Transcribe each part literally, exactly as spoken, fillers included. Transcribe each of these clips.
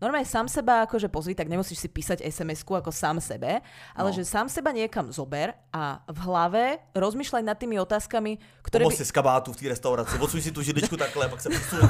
normálne sám seba akože pozri, tak nemusíš si písať es em esku ako sám sebe, ale no. že sám seba niekam zober a v hlave rozmýšľaj nad tými otázkami, ktoré Pomoz by... si z kabátu v té restauraci, odsuň si tu židličku takhle, pak sa posuň.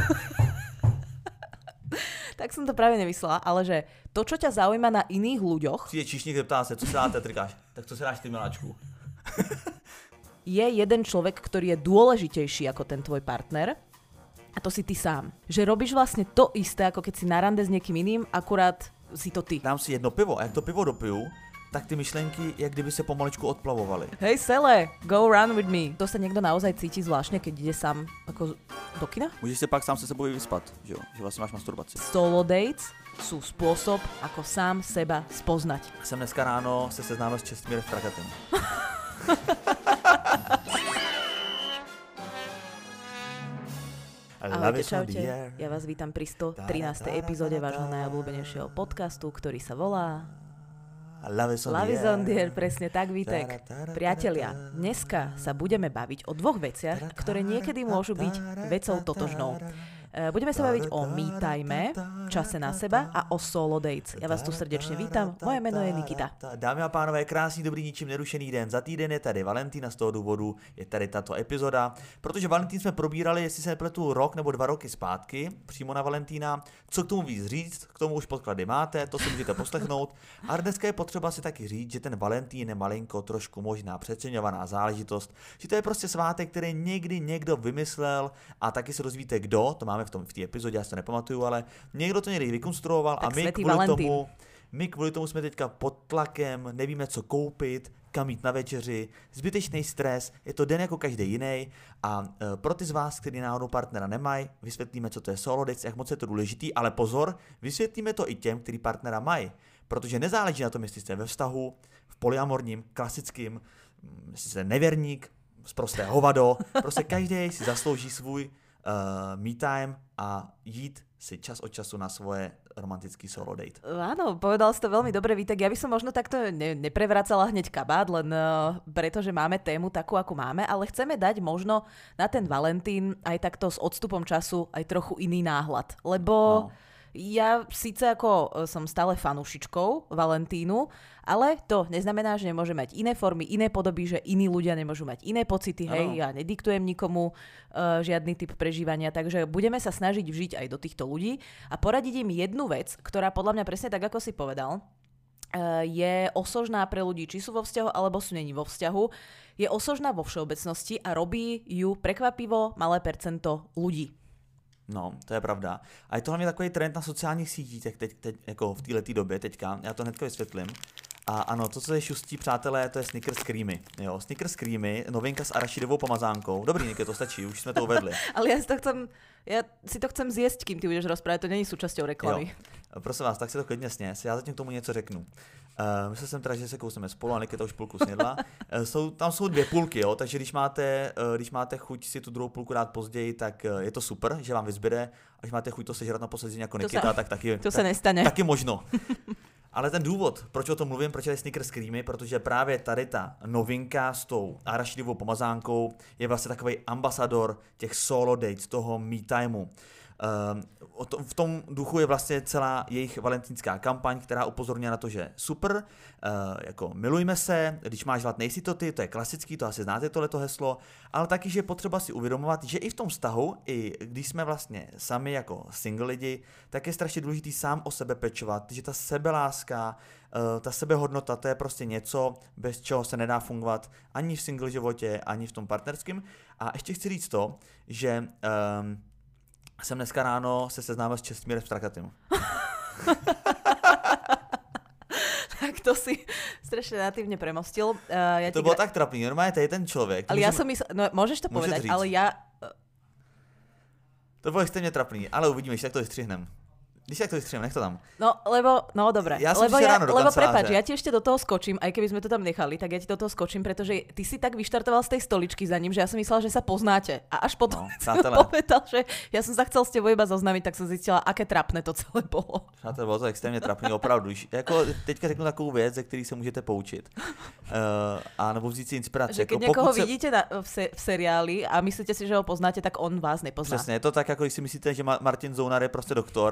Tak som to práve nemyslela, ale že to, čo ťa zaujíma na iných ľuďoch... Přijde číšník, zeptá se, co se dáte, trikáš, tak co se dáš ty, miláčku? Je jeden človek, ktorý je dôležitejší ako ten tvoj partner a to si ty sám. Že robíš vlastne to isté, ako keď si na rande s niekým iným, akurát si to ty. Dám si jedno pivo a jak to pivo dopiju, tak ty myšlenky, jak kdyby se pomaličku odplavovaly. Hej Sele, go run with me. To sa niekto naozaj cíti zvláštne, keď ide sám ako do kina? Můžeš si pak sám se sebou vyspat, že jo? Že vlastně máš masturbaci. Solo dates sú spôsob, ako sám seba spoznať. Jsem dneska ráno se seznámil s Čestmírem Strakatem. Ahojte, čaute. Ja vás vítam pri sto trinástej epizóde vášho najobľúbenejšieho podcastu, ktorý sa volá Love is on the air, presne tak, Vítek. Priatelia, dneska sa budeme baviť o dvoch veciach, ktoré niekedy môžu byť vecou totožnou. Budeme sa baviť o me time, čase na seba a o solo dates. Ja vás tu srdečne vítam, moje meno je Nikita. Dámy a pánové, krásný, dobrý, ničím nerušený den. Za týden je tady Valentín a z toho důvodu je tady tato epizoda, protože Valentín jsme probírali, jestli se nepletu rok nebo dva roky zpátky, přímo na Valentína. Co k tomu víc říct, k tomu už podklady máte, to si můžete poslechnout. A dneska je potřeba si taky říct, že ten Valentín je malinko trošku možná přeceňovaná záležitost, že to je prostě svátek, který někdy někdo vymyslel a taky se dozvíte kdo, to máme v tom v té epizodě, já si to nepamatuju, ale někdo to někdy vykonstruoval tak a my kvůli Valentín. tomu my kvůli tomu jsme teďka pod tlakem, nevíme co koupit, kam jít na večeři, zbytečný stres, je to den jako každý jiný a e, pro ty z vás, kteří náhodou partnera nemají, vysvětlíme, co to je solo dates, jak moc je to důležitý, ale pozor, vysvětlíme to i těm, kteří partnera mají, protože nezáleží na tom, jestli jste ve vztahu, v polyamorním, klasickým, jestli jste nevěrník, zprosté hovado, prostě každý si zaslouží svůj Uh, me time a jít si čas od času na svoje romantický solo date. Áno, povedal si to veľmi dobre, Vítek. Ja by som možno takto ne, neprevracala hneď kabát, len uh, preto, že máme tému takú, ako máme, ale chceme dať možno na ten Valentín aj takto s odstupom času aj trochu iný náhľad. Lebo... No. Ja síce ako som stále fanúšičkou Valentínu, ale to neznamená, že nemôže mať iné formy, iné podoby, že iní ľudia nemôžu mať iné pocity, hej, ano. Ja nediktujem nikomu uh, žiadny typ prežívania, takže budeme sa snažiť vžiť aj do týchto ľudí a poradiť im jednu vec, ktorá podľa mňa presne tak, ako si povedal, uh, je osožná pre ľudí, či sú vo vzťahu, alebo sú není vo vzťahu, je osožná vo všeobecnosti a robí ju prekvapivo malé percento ľudí. No, to je pravda. A je to hlavně takový trend na sociálních sítích, teď, teď, teď jako v této době teďka, já to hnedka vysvětlím. A ano, to, co je šustí, přátelé, to je Snickers Creamy. Jo, Snickers Creamy, novinka s arašidovou pomazánkou. Dobrý, Niky, to stačí, už jsme to uvedli. Ale já si to chcem, já si to chcem zjesť, kým ty budeš rozprávať, to není súčasťou reklamy. Jo. Prosím vás, tak si to klidně sněz, já zatím k tomu něco řeknu. Uh, myslel jsem teda, že se kousneme spolu a Nikita už půlku snědla. Uh, jsou, tam jsou dvě půlky, jo, takže když máte, uh, když máte chuť si tu druhou půlku dát později, tak uh, je to super, že vám vyzbyde. A když máte chuť to sežrat na poslední jako Nikita, sa, tak taky, to tak, se nestane. taky možno. Ale ten důvod, proč o tom mluvím, proč je Snickers Creamy, protože právě tady ta novinka s tou arašidovou pomazánkou je vlastně takový ambasador těch solo dates, toho me timeu. Uh, to, v tom duchu je vlastně celá jejich valentínská kampaň, která upozorňuje na to, že super, uh, jako milujme se, když máš hlad nejsi to ty, to je klasický, to asi znáte tohleto heslo, ale taky, že je potřeba si uvědomovat, že i v tom vztahu, i když jsme vlastně sami jako single lidi, tak je strašně důležitý sám o sebe pečovat, že ta sebeláska, uh, ta sebehodnota, to je prostě něco, bez čeho se nedá fungovat ani v single životě, ani v tom partnerském. A ještě chci říct to, že um, jsem dneska ráno se seznámil s Čestmírem Strakatem. Tak to si strašne natívne premostil. Uh, ja to bolo gra... tak trapný, normálne to je ten človek. Ale ja som mysl... No, môžeš to Môžeš povedať, říct. Ale ja... To bolo extrémne trapný, ale uvidíme, tak to vystřihnem. Když tak to vystřihnem, nech to tam. No, lebo, no dobré. Ja som lebo ja, ráno do lebo prepáč, ja ti ešte do toho skočím, aj keby sme to tam nechali, tak ja ti do toho skočím, pretože ty si tak vyštartoval z tej stoličky za ním, že ja som myslela, že sa poznáte. A až potom no, som povedal, že ja som sa chcel s tebou iba zoznamiť, tak som zistila, aké trapné to celé bolo. Přátelé, bylo to extrémně trapný, opravdu. Jako teďka řeknu takovou věc, ze který se můžete poučit. Uh, a nebo vzít si inspiraci. Že keď jako někoho se... vidíte na, v, se, v seriáli a myslíte si, že ho poznáte, tak on vás nepozná. Přesně, je to tak, jako když si myslíte, že Martin Zounar je prostě doktor a běžíte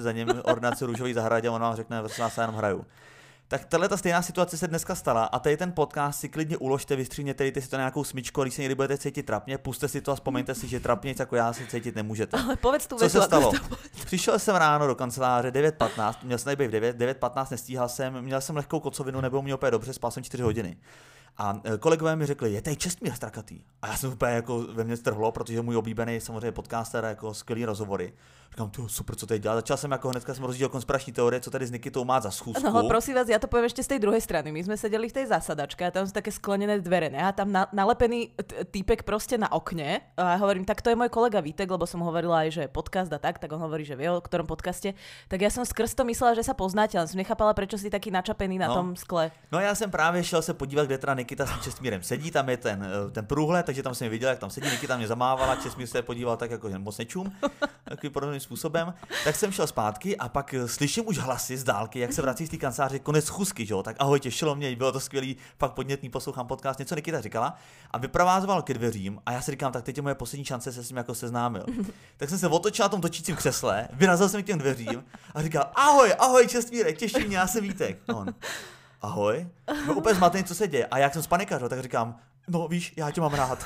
si za ním ordinaci růžový zahradě a on vám řekne, že vás já jenom hraju. Tak tahle ta stejná situace se dneska stala a tady ten podcast si klidně uložte, vystříhněte, dejte si to na nějakou smyčku, když se někdy budete cítit trapně, puste si to a vzpomeňte si, že trapně jako já si cítit nemůžete. Ale povedz tu Co větu, se stalo? Přišel jsem ráno do kanceláře devět patnáct, měl jsem tady být v devět, devět patnáct nestíhal jsem, měl jsem lehkou kocovinu, nebylo mě úplně dobře, spal jsem čtyři hodiny. A kolegové mi řekli, je tady Čestmír Strakatý. A já jsem úplně jako ve mně strhlo, protože můj oblíbený samozřejmě podcaster, jako skvělý rozhovory. Říkám, to super, co tady dělá. Začal jsem jako hnedka jsem rozdělil konspirační teorie, co tady s Nikitou má za schůzku. No, prosím vás, ja to poviem ešte z tej druhej strany. My sme sedeli v tej zasadačke a tam sú také sklenené dvere, ne? A tam na, nalepený t- týpek proste na okne. A ja hovorím, tak to je môj kolega Vítek, lebo som hovorila aj, že podcast a tak, tak on hovorí, že vie o ktorom podcaste. Tak ja som skrz to myslela, že sa poznáte, ale som nechápala, prečo si taký načapený na no. tom skle. No já jsem právě šel se podívat, kde teda Nikita s Čestmírem sedí, tam je ten, ten průhled, takže tam jsem viděl, jak tam sedí, Nikita mě zamávala, Čestmír se podíval tak jako moc nečum, takovým podobným způsobem. Tak jsem šel zpátky a pak slyším už hlasy z dálky, jak se vrací z té kanceláře, konec schůzky, že jo? Tak ahoj, těšilo mě, bylo to skvělý, fakt podnětný, poslouchám podcast, něco Nikita říkala a vyprovázoval ke dveřím a já si říkám, tak teď je moje poslední šance se s ním jako seznámil. Tak jsem se otočil na tom točícím křesle, vyrazil jsem k těm dveřím a říkal, ahoj, ahoj Čestmírek, těší mě, já jsem Vítek. On, ahoj, no úplně zmatený, co se děje. A jak jsem spanikařil, tak říkám, no víš, já tě mám rád.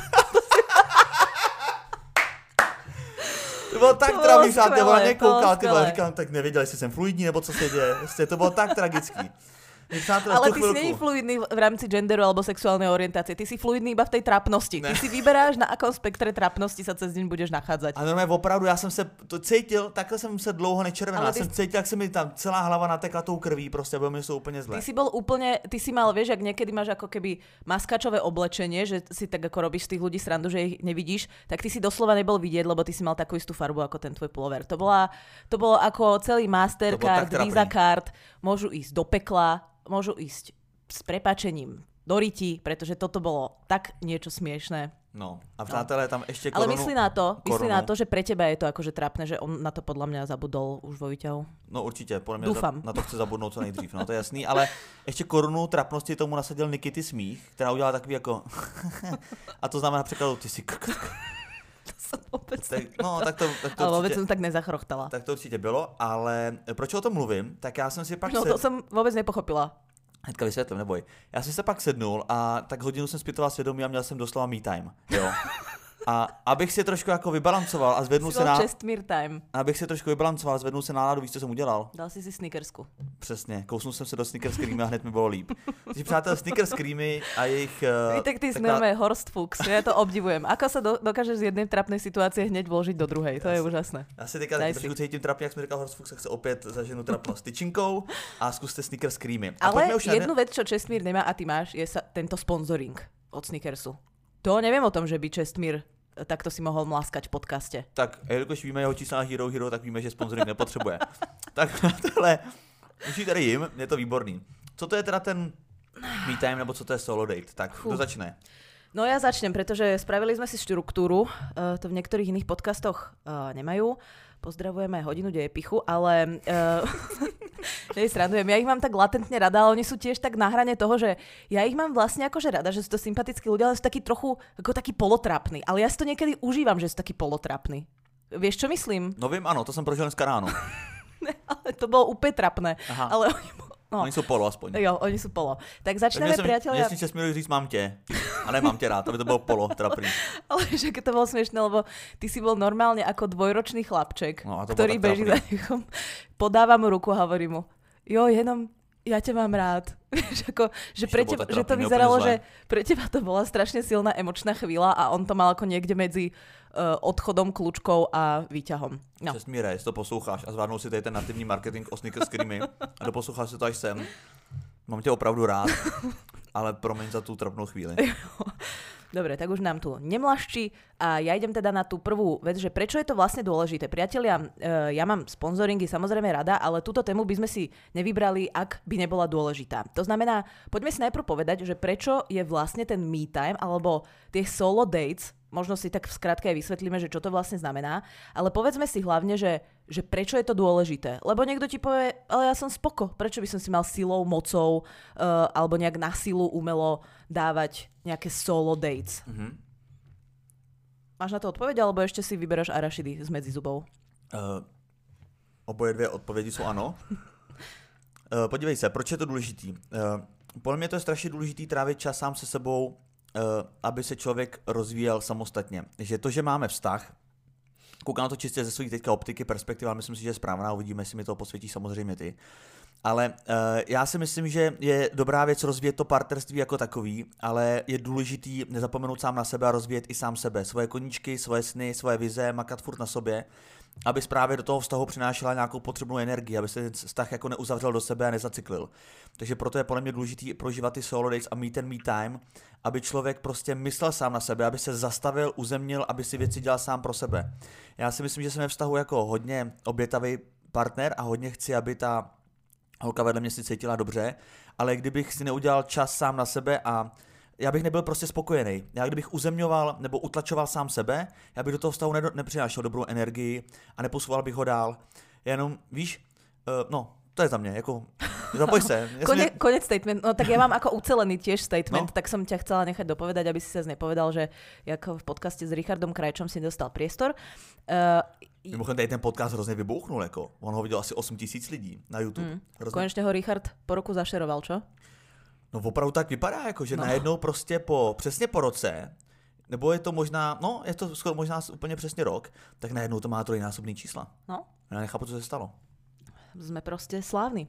To bylo tak trapný, že ona mě koukala, ty vole, říkám, tak nevěděl, jestli jsem fluidní, nebo co se děje. Prostě to bylo tak tragický. Ale ty si není fluidný v rámci genderu alebo sexuálnej orientácie. Ty si fluidný iba v tej trápnosti. Ne. Ty si vyberáš, na akom spektre trápnosti sa cez deň budeš nachádzať. A normálně opravdu, já jsem se to cítil, takhle jsem se dlouho nečervenal. Já ty... jsem cítil, jak se mi tam celá hlava natekla tou krví, prostě bylo mi to úplně zle. Ty si bol úplne, ty si mal, vieš, ak niekedy máš ako keby maskačové oblečenie, že si tak ako robíš z tých ľudí srandu, že ich nevidíš, tak ty si doslova nebol vidieť, lebo ty si mal takú istú farbu ako ten tvoj pullover. To bola, to bolo ako celý Mastercard, Visa card, môžu ísť do pekla, môžu ísť s prepáčením do ryti, pretože toto bolo tak niečo smiešné. No a přátelé, tam ešte korunu. Ale myslí na to, myslí na to, že pre teba je to akože trápne, že on na to podľa mňa zabudol už vo výťahu. No určitě, podľa mňa za, na to chce zabudnout co nejdřív, no to je jasný, ale ešte korunu trapnosti tomu nasadil Nikity smích, která udělala takový jako a to znamená překladu ty si To som vôbec tak, no, tak to, tak to ale vôbec určitě, som tak nezachrochtala. Tak to určitě bylo, ale proč o tom mluvím, tak já jsem si pak... No se... to jsem vůbec nepochopila. Hnedka vysvětlím, neboj. Já jsem se pak sednul a tak hodinu jsem zpytoval svědomí a měl jsem doslova me time, jo. A abych si trošku jako vybalancoval a zvednul se na... Čestmír time. Abych si trošku vybalancoval a zvednul se náladu, víš, co jsem udělal? Dal si si Snickersku. Přesně, kousnul jsem se do Snickers Creamy a hned mi bylo líp. Takže přátel, Snickers Creamy a jejich... Uh, tak ty jsme taká... Horst Fuchs, ja to obdivujem. Ako sa do, dokážeš z jednej trapnej situácie hneď vložiť do druhej, to já je si, úžasné. Já si teďka taky trošku cítím trapně, jak jsme říkal Horst Fuchs, tak se opět zaženu trapnost tyčinkou a zkuste Snickers Creamy. A ale už jednu ne... vec, čo Čestmír nemá a ty máš, je sa tento sponzoring od Snickersu. To neviem o tom, že by Čestmír takto si mohol mláskať v podcaste. Tak, jelikož víme jeho čísla na Hero Hero, tak víme, že sponsoring nepotřebuje. Tak tohle, už tady jim, je to výborný. Co to je teda ten me time, nebo co to je solo date? Tak, kdo začne? No ja začnem, pretože spravili sme si štruktúru, uh, to v niektorých iných podcastoch uh, nemajú. Pozdravujeme hodinu dejepichu, ale uh, nesrandujem, ja ich mám tak latentne rada, ale oni sú tiež tak na hrane toho, že ja ich mám vlastne akože rada, že sú to sympatickí ľudia, ale sú takí trochu ako takí polotrapní. Ale ja si to niekedy užívam, že sú takí polotrapní. Vieš, čo myslím? No vím, ano, to som prožil dneska ráno. Ne, ale to bolo úplne trapné. Aha. Ale No. Oni jsou polo aspoň. Jo, oni jsou polo. Tak začneme, priatelia. Mne si Čestmírovi říct mám tě, a nemám tě rád, aby to bylo polo, trapný. Ale že to bolo smiešné, lebo ty si bol normálne ako dvojročný chlapček, no, ktorý beží za nechom. Podáva mu ruku a hovorí mu, jo, jenom ja ťa mám rád. Ako, že, pre teba, že to vyzeralo, že pre teba to bola strašne silná emočná chvíľa a on to mal ako niekde medzi uh, odchodom, kľúčkou a výťahom. No. Čestmíre, jestli to posloucháš a zvládnul si tady ten nativní marketing o Snickers Creamy a doposloucháš si to až sem, mám tě opravdu rád, ale promiň za tú trapnou chvíli. Dobre, tak už nám tu nemlašči a ja idem teda na tú prvú vec, že prečo je to vlastne dôležité. Priatelia, ja mám sponzoringy samozrejme rada, ale túto tému by sme si nevybrali, ak by nebola dôležitá. To znamená, poďme si najprv povedať, že prečo je vlastne ten me time alebo tie solo dates, možno si tak v skratke aj vysvetlíme, že čo to vlastne znamená, ale povedzme si hlavne, že, že prečo je to dôležité. Lebo niekto ti povie, ale ja som spoko, prečo by som si mal silou, mocou uh, alebo nejak na silu umelo dávať nejaké solo dates. Mm-hmm. Máš na to odpoveď, alebo ešte si vyberáš arašidy z medzi zubov? Uh, Oboje dvě odpovědi jsou ano. uh, podívej se, proč je to důležitý? Uh, podle mě to je strašně důležitý trávit čas sám se sebou, uh, aby se člověk rozvíjel samostatně. Že to, že máme vztah, koukám na to čistě ze svých teďka optiky, perspektiva, ale myslím si, že je správná, uvidíme, jestli mi to posvětíš samozřejmě ty. Ale uh, já si myslím, že je dobrá věc rozvíjet to partnerství jako takový, ale je důležitý nezapomenout sám na sebe a rozvíjet i sám sebe. Svoje koníčky, svoje sny, svoje vize, makat furt na sobě, aby právě do toho vztahu přinášela nějakou potřebnou energii, aby se ten vztah jako neuzavřel do sebe a nezacyklil. Takže proto je podle mě důležitý prožívat ty solo dates a meet and me time, aby člověk prostě myslel sám na sebe, aby se zastavil, uzemnil, aby si věci dělal sám pro sebe. Já si myslím, že jsem ve vztahu jako hodně obětavý partner a hodně chci, aby ta holka vedle mě si cítila dobře, ale kdybych si neudělal čas sám na sebe a já bych nebyl prostě spokojený. Já kdybych uzemňoval nebo utlačoval sám sebe, já bych do toho vztahu ne- nepřinášel dobrou energii a neposouval bych ho dál. Jenom, víš, uh, no, to je za mě, jako, zapoj se. Konec, ne... konec statement, no tak ja mám ako ucelený tiež statement, no. Tak som ťa chcela nechať dopovedať, aby si sa nepovedal, že jak v podcaste s Richardom Krajčom si dostal priestor. Uh, Mimochodem, tady ten podcast hrozně vybouchnul, jako. On ho viděl asi osm tisíc lidí na YouTube. Mm. Hrozně... Konečne ho Richard po roku zašeroval, čo? No opravdu tak vypadá, jako, že no. najednou prostě po, přesně po roce, nebo je to možná, no je to skoro možná úplně přesně rok, tak najednou to má trojnásobný čísla. No. Já nechápu, co se stalo. Sme proste slávni.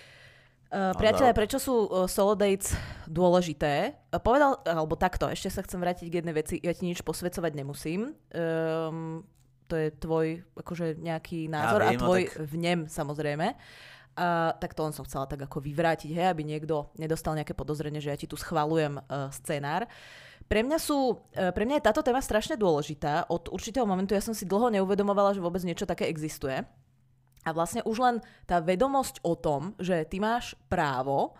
Uh, priatelia, prečo sú uh, solo dates dôležité? Uh, povedal, alebo takto, ešte sa chcem vrátiť k jednej veci, ja ti nič posvedcovať nemusím. Um, to je tvoj akože nejaký názor ja viem, a tvoj no tak... vnem samozrejme. Uh, tak to len som chcela tak ako vyvrátiť, hej, aby niekto nedostal nejaké podozrenie, že ja ti tu schvaľujem uh, scenár. Pre mňa, sú, uh, pre mňa je táto téma strašne dôležitá. Od určitého momentu ja som si dlho neuvedomovala, že vôbec niečo také existuje. A vlastne už len tá vedomosť o tom, že ty máš právo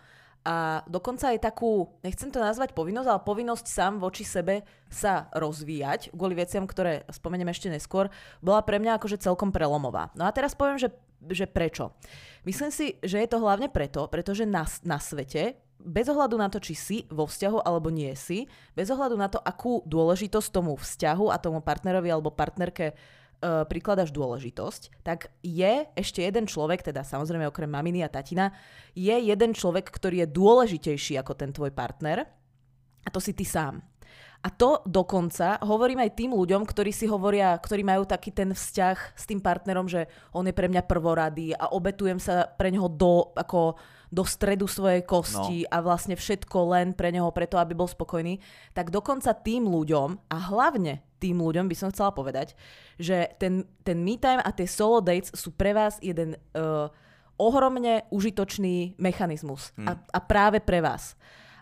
a dokonca aj takú, nechcem to nazvať povinnosť, ale povinnosť sám voči sebe sa rozvíjať, kvôli veciam, ktoré spomeniem ešte neskôr, bola pre mňa akože celkom prelomová. No a teraz poviem, že, že prečo. Myslím si, že je to hlavne preto, pretože na, na svete, bez ohľadu na to, či si vo vzťahu alebo nie si, bez ohľadu na to, akú dôležitosť tomu vzťahu a tomu partnerovi alebo partnerke Uh, prikladaš dôležitosť, tak je ešte jeden človek, teda samozrejme okrem maminy a tatina, je jeden človek, ktorý je dôležitejší ako ten tvoj partner a to si ty sám. A to dokonca hovorím aj tým ľuďom, ktorí si hovoria, ktorí majú taký ten vzťah s tým partnerom, že on je pre mňa prvoradý a obetujem sa pre neho do, ako, do stredu svojej kosti no. a vlastne všetko len pre neho, preto aby bol spokojný, tak dokonca tým ľuďom a hlavne tým ľuďom by som chcela povedať, že ten, ten me time a tie solo dates sú pre vás jeden uh, ohromne užitočný mechanizmus hmm. a, a práve pre vás.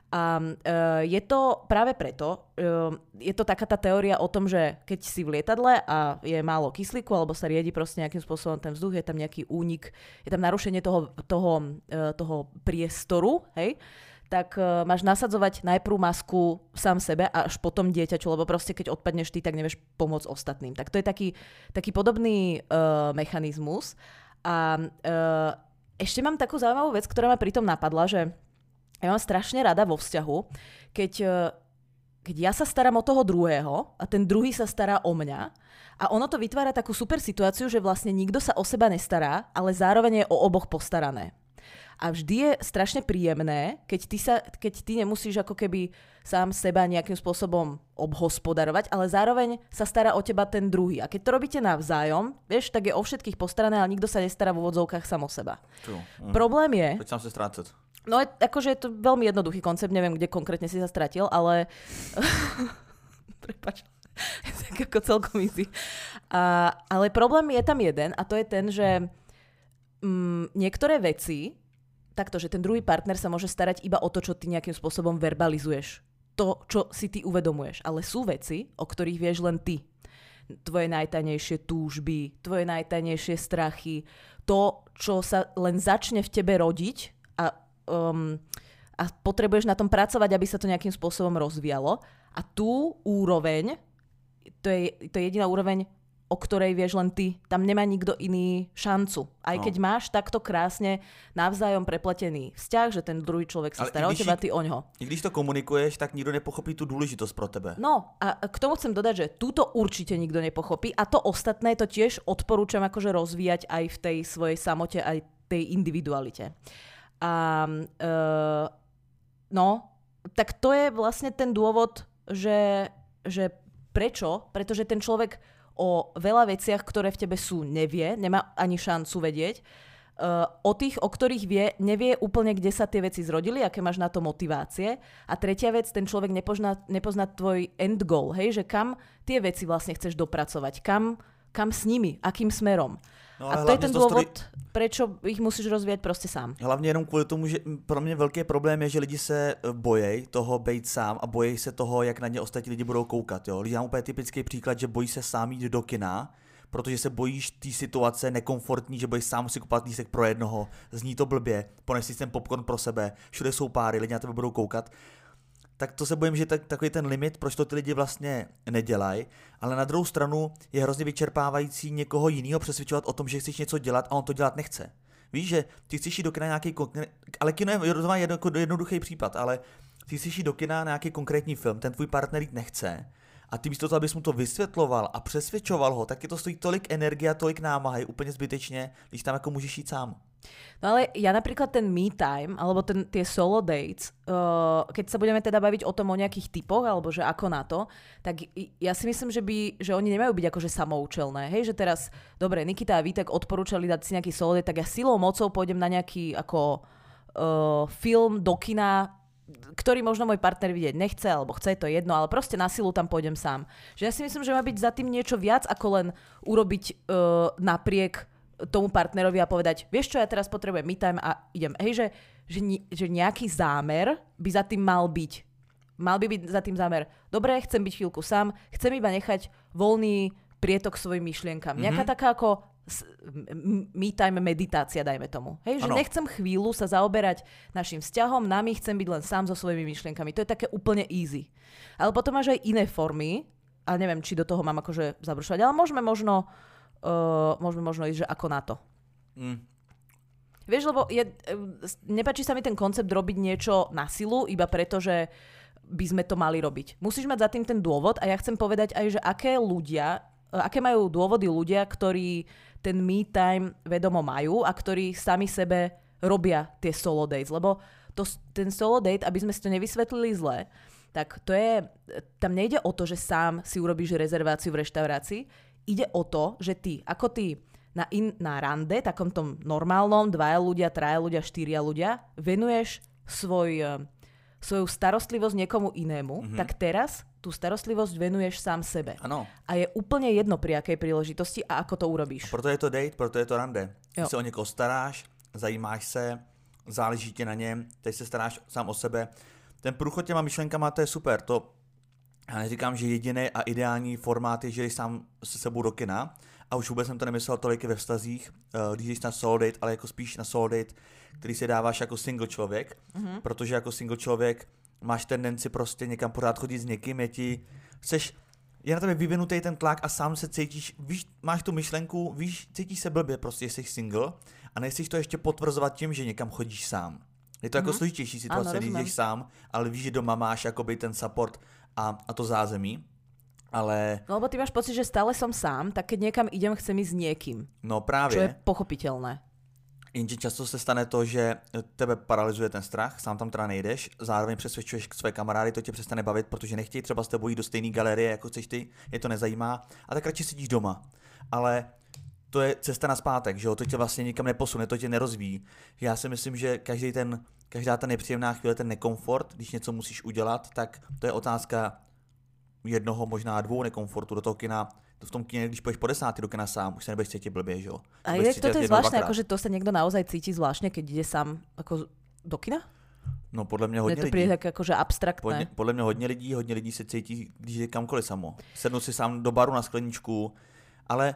A uh, je to práve preto, uh, je to taká tá teória o tom, že keď si v lietadle a je málo kyslíku alebo sa riedi proste nejakým spôsobom ten vzduch, je tam nejaký únik, je tam narušenie toho, toho, uh, toho priestoru, hej, tak uh, máš nasadzovať najprv masku sám sebe a až potom dieťaču, lebo proste keď odpadneš ty, tak nevieš pomôcť ostatným. Tak to je taký, taký podobný uh, mechanizmus. A uh, ešte mám takú zaujímavú vec, ktorá ma pritom napadla, že ja mám strašne rada vo vzťahu, keď, keď ja sa starám o toho druhého a ten druhý sa stará o mňa a ono to vytvára takú super situáciu, že vlastne nikto sa o seba nestará, ale zároveň je o oboch postarané. A vždy je strašne príjemné, keď ty, sa, keď ty nemusíš ako keby sám seba nejakým spôsobom obhospodarovať, ale zároveň sa stará o teba ten druhý. A keď to robíte navzájom, vieš, tak je o všetkých postarané, ale nikto sa nestará v úvodzovkách sám o seba. Mm. Problém je... Teď sám sa strácať. No, akože je to veľmi jednoduchý koncept, neviem, kde konkrétne si sa stratil, ale... Prepáč. Tak ako celkom easy. A, ale problém je tam jeden a to je ten, že mm, niektoré veci, takto, že ten druhý partner sa môže starať iba o to, čo ty nejakým spôsobom verbalizuješ. To, čo si ty uvedomuješ. Ale sú veci, o ktorých vieš len ty. Tvoje najtajnejšie túžby, tvoje najtajnejšie strachy, to, čo sa len začne v tebe rodiť a Um, a potrebuješ na tom pracovať, aby sa to nejakým spôsobom rozvíjalo. A tú úroveň, to je, to je jediná úroveň, o ktorej vieš len ty. Tam nemá nikto iný šancu. Aj no. keď máš takto krásne navzájom prepletený vzťah, že ten druhý človek sa stará o teba, ty oňho. I když to komunikuješ, tak nikto nepochopí tú dôležitosť pro tebe. No a k tomu chcem dodať, že túto určite nikto nepochopí a to ostatné to tiež odporúčam akože rozvíjať aj v tej svojej samote, aj tej individualite. A uh, no, tak to je vlastne ten dôvod, že, že prečo? Pretože ten človek o veľa veciach, ktoré v tebe sú, nevie, nemá ani šancu vedieť. Uh, o tých, o ktorých vie, nevie úplne, kde sa tie veci zrodili, aké máš na to motivácie. A tretia vec, ten človek nepozná, nepozná tvoj end goal, hej, že kam tie veci vlastne chceš dopracovať, kam, kam s nimi, akým smerom. No, a to je ten dôvod, story... prečo ich musíš rozvíjať proste sám. Hlavně jenom kvůli tomu, že pro mě velký problém je, že lidi se bojí toho být sám a bojí se toho, jak na ně ostatní lidi budou koukat. Jo? Lidi mám úplně typický příklad, že bojí se sám jít do kina, protože se bojíš té situace nekomfortní, že bojíš sám si kupovat lístek pro jednoho, zní to blbě, pones si ten popcorn pro sebe, všude jsou páry, lidi na tebe budou koukat. Tak to se bojím, že tak, takový ten limit, proč to ty lidi vlastně nedělají, ale na druhou stranu je hrozně vyčerpávající někoho jiného přesvědčovat o tom, že chceš něco dělat a on to dělat nechce. Víš, že ty chceš jít do kina nějaký, ale kino je jednoduchý případ, ale ty chceš jít do kina nějaký konkrétní film, ten tvůj partner jít nechce a ty místo toho, abys mu to vysvětloval a přesvědčoval ho, tak je to stojí tolik energie a tolik námahy, úplně zbytečně, když tam jako můžeš jít sám. No ale ja napríklad ten me time, alebo ten, tie solo dates, uh, keď sa budeme teda baviť o tom, o nejakých typoch, alebo že ako na to, tak ja si myslím, že, by, že oni nemajú byť akože samoučelné. Hej, že teraz, dobre, Nikita a Vítek odporúčali dať si nejaký solo date, tak ja silou mocou pôjdem na nejaký ako uh, film do kina, ktorý možno môj partner vidieť nechce, alebo chce, to je jedno, ale proste na silu tam pôjdem sám. Že ja si myslím, že má byť za tým niečo viac, ako len urobiť uh, napriek tomu partnerovi a povedať, vieš čo, ja teraz potrebujem me time a idem. Hej, že, že, že nejaký zámer by za tým mal byť. Mal by byť za tým zámer. Dobre, chcem byť chvíľku sám, chcem iba nechať voľný prietok svojim myšlienkam. Mm-hmm. Nejaká taká ako me time meditácia, dajme tomu. Hej, že ano. Nechcem chvíľu sa zaoberať našim vzťahom, nami chcem byť len sám so svojimi myšlienkami. To je také úplne easy. Ale potom máš aj iné formy, a neviem, či do toho mám akože zabrušovať, ale môžeme možno Uh, môžeme možno ísť, že ako na to. Mm. Vieš, lebo je, nepáči sa mi ten koncept robiť niečo na silu, iba preto, že by sme to mali robiť. Musíš mať za tým ten dôvod a ja chcem povedať aj, že aké ľudia, aké majú dôvody ľudia, ktorí ten me time vedomo majú a ktorí sami sebe robia tie solo dates. Lebo to, ten solo date, aby sme si to nevysvetlili zle, tak to je, tam nejde o to, že sám si urobíš rezerváciu v reštaurácii. Ide o to, že ty, ako ty na, in, na rande, takom tom normálnom, dvaja ľudia, traja ľudia, štyria ľudia, venuješ svoj, svoju starostlivosť niekomu inému, mm-hmm. tak teraz tú starostlivosť venuješ sám sebe. Ano. A je úplne jedno, pri akej príležitosti a ako to urobíš. A proto je to date, proto je to rande. Ty se o někoho staráš, zajímáš se, záleží ti na něm, teď se staráš sám o sebe. Ten průchod těma myšlenkama, to je super, to já neříkám, že jediný a ideální formát je, že jdeš sám se sebou do kina. A už vůbec jsem to nemyslel tolik ve vztazích, když jdeš na solo date, ale jako spíš na solo date, který si dáváš jako single člověk. Mm-hmm. Protože jako single člověk máš tendenci prostě někam pořád chodit s někým, je ti, chceš, je na tebe vyvinutý ten tlak a sám se cítíš, víš, máš tu myšlenku, víš, cítíš se blbě, prostě jsi single a nechceš to ještě potvrzovat tím, že někam chodíš sám. Je to mm-hmm. jako složitější situace, když jdeš sám, ale víš, že doma máš jakoby ten support a, a to zázemí, ale... No lebo ty máš pocit, že stále som sám, tak keď niekam idem, chcem ísť s niekým. No právě. Čo je pochopitelné. Jenže často se stane to, že tebe paralyzuje ten strach, sám tam teda nejdeš, zároveň přesvědčuješ své kamarády, to tě přestane bavit, protože nechtějí třeba s tebou jít do stejné galerie, jako chceš ty, je to nezajímá, a tak radši sedíš doma. Ale to je cesta nazpátek, že jo, to tě vlastně nikam neposune, to tě nerozvíjí. Já si myslím, že každý ten, každá ta nepříjemná chvíle, ten nekomfort, když něco musíš udělat, tak to je otázka jednoho, možná dvou nekomfortu do toho kina. V tom kine, když pôjdeš po desátý do kina sám, už sa nebudeš cítiť blbě, že jo? A je to zvláštne, akože to sa niekto naozaj cíti zvláštne, keď ide sám ako do kina? No podle mě hodně lidí. To príde tak akože abstraktné. Podle, podle mě hodně lidí, hodně lidí se cítí, když je kamkoliv samo. Sednu si sám do baru na skleničku, ale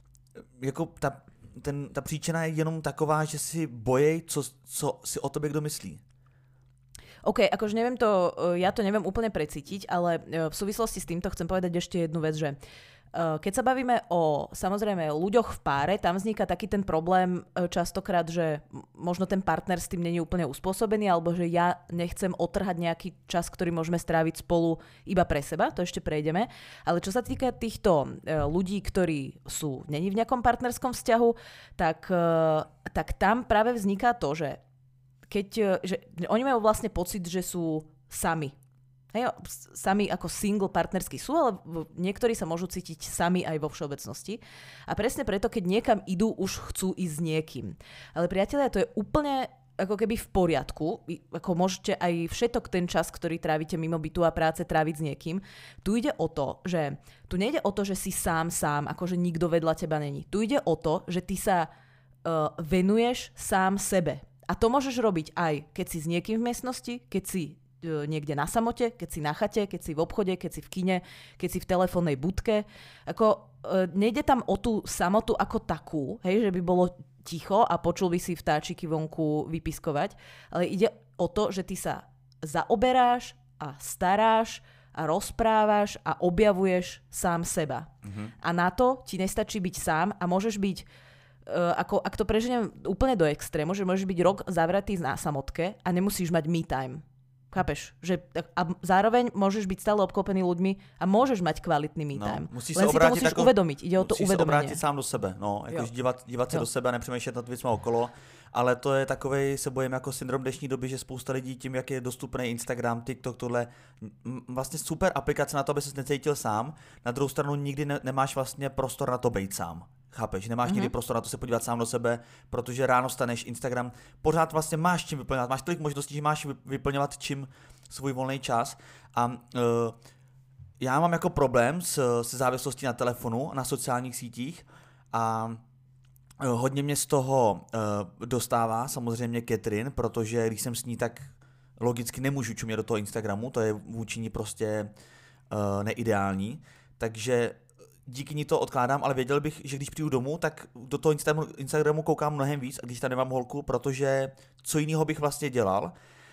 jako ta, ten, ta příčina je jenom taková, že si bojej, co, co si o tobě kdo myslí. OK, akože neviem to, ja to neviem úplne precítiť, ale v súvislosti s týmto chcem povedať ešte jednu vec, že Keď sa bavíme o samozrejme ľuďoch v páre, tam vzniká taký ten problém častokrát, že možno ten partner s tým nie je úplne uspôsobený, alebo že ja nechcem otrhať nejaký čas, ktorý môžeme stráviť spolu iba pre seba, to ešte prejdeme. Ale čo sa týka týchto ľudí, ktorí sú není v nejakom partnerskom vzťahu, tak, tak tam práve vzniká to, že keď že oni majú vlastne pocit, že sú sami. Hej, sami ako single partnerský sú, ale niektorí sa môžu cítiť sami aj vo všeobecnosti. A presne preto, keď niekam idú, už chcú ísť s niekým. Ale priatelia, to je úplne ako keby v poriadku. Ako môžete aj všetok ten čas, ktorý trávite mimo bytu a práce, tráviť s niekým. Tu ide o to, že tu nejde o to, že si sám sám, akože nikto vedľa teba není. Tu ide o to, že ty sa uh, venuješ sám sebe. A to môžeš robiť aj, keď si s niekým v miestnosti, keď si niekde na samote, keď si na chate, keď si v obchode, keď si v kine, keď si v telefónnej budke. Ako, e, nejde tam o tú samotu ako takú, hej, že by bolo ticho a počul by si vtáčiky vonku vypiskovať, ale ide o to, že ty sa zaoberáš a staráš a rozprávaš a objavuješ sám seba. Mhm. A na to ti nestačí byť sám a môžeš byť Uh, ako, ak to preženiem úplne do extrému, že môžeš byť rok zavretý na samotke a nemusíš mať me time. Chápeš? Že, a zároveň môžeš byť stále obklopený ľuďmi a môžeš mať kvalitný me time. No, musíš Len sa si to musíš ako, uvedomiť. Ide o to musíš uvedomenie. Musíš sa obrátit sám do sebe. No, jakož dívat, dívat se jo. do sebe a nepřemýšlet nad věcma okolo. Ale to je takovej, se bojím, jako syndrom dnešní doby, že spousta lidí tím, jak je dostupný Instagram, TikTok, tohle, vlastně super aplikace na to, aby ses necítil sám. Na druhou stranu nikdy ne, nemáš vlastně prostor na to být sám. Chápeš, nemáš mm-hmm. nikdy prostor na to se podívat sám do sebe, protože ráno staneš, Instagram, pořád vlastně máš čím vyplňovat, máš tolik možností, že máš vyplňovat čím svůj volný čas a uh, já mám jako problém s, se závislostí na telefonu, na sociálních sítích a uh, hodně mě z toho uh, dostává samozřejmě Catherine, protože když jsem s ní, tak logicky nemůžu čumět do toho Instagramu, to je vůči ní prostě uh, neideální, takže díky ní to odkládám, ale věděl bych, že když přijdu domů, tak do toho Instagramu, Instagramu koukám mnohem víc, když tam nemám holku, protože co jiného bych vlastně dělal.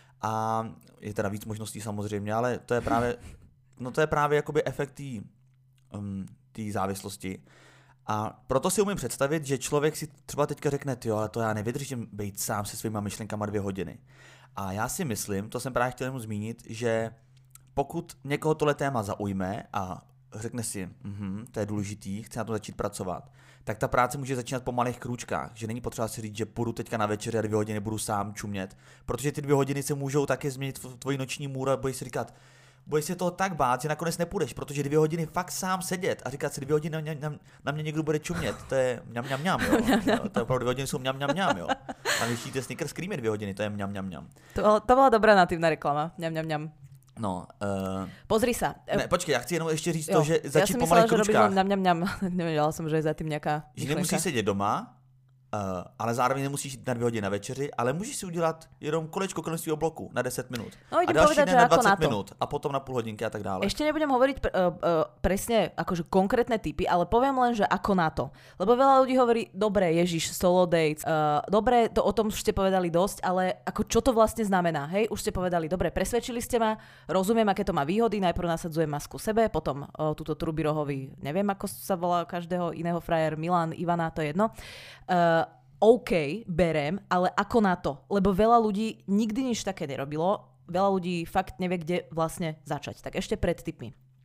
A je teda víc možností samozřejmě, ale to je právě, no to je právě jakoby efekt té um, závislosti. A proto si umím představit, že člověk si třeba teďka řekne, jo, ale to já nevydržím být sám se svýma myšlenkama dvě hodiny. A já si myslím, to jsem právě chtěl jenom zmínit, že pokud někoho tohle téma zaujme a řekne si, mm, to je důležitý, chci na to začít pracovat, tak ta práce může začínat po malých krůčkách, že není potřeba si říct, že půjdu teďka na večeři a dvě hodiny budu sám čumět, protože ty dvě hodiny se můžou taky změnit v tvoji noční můru a budeš si říkat, budeš si toho tak bát, že nakonec nepůjdeš, protože dvě hodiny fakt sám sedět a říkat si dvě hodiny na, na, na mě někdo bude čumět, to je mňam mňam mňam, jo. No, to je opravdu dvě hodiny jsou mňam mňam mňam, jo. A když jíte Snickers Creamy dvě hodiny, to je mňam mňam mňam. To, to byla dobrá natívna reklama, mňam mňam mňam. No, uh... Pozri sa. Ne, počkej, já chci jenom ještě říct jo, to, že začít po malých kručkách. Ja som myslela, že robíš mňam mňam, nevedela som, že je za tým nejaká Že nemusíš sedět doma, Uh, ale zároveň nemusíš jít na dvě hodiny na večeři, ale můžeš si udělat jenom kolečko kolem svého bloku na deset minut. No, a další povedať, na dvacet minut a potom na půl hodinky a tak dále. Ešte nebudem hovoriť pr- uh, uh, presne akože konkrétne typy, ale poviem len, že ako na to. Lebo veľa ľudí hovorí, dobre, ježiš, solo dates, uh, dobre, to o tom už ste povedali dosť, ale ako čo to vlastne znamená, hej? Už ste povedali, dobre, presvedčili ste ma, rozumiem, aké to má výhody, najprv nasadzujem masku sebe, potom uh, túto Trubirohovi, neviem, ako sa volá každého iného frajer, Milan, Ivana, to je jedno. Uh, OK, berem, ale ako na to? Lebo veľa ľudí nikdy nič také nerobilo, veľa ľudí fakt nevie, kde vlastne začať. Tak ešte pred tipmi.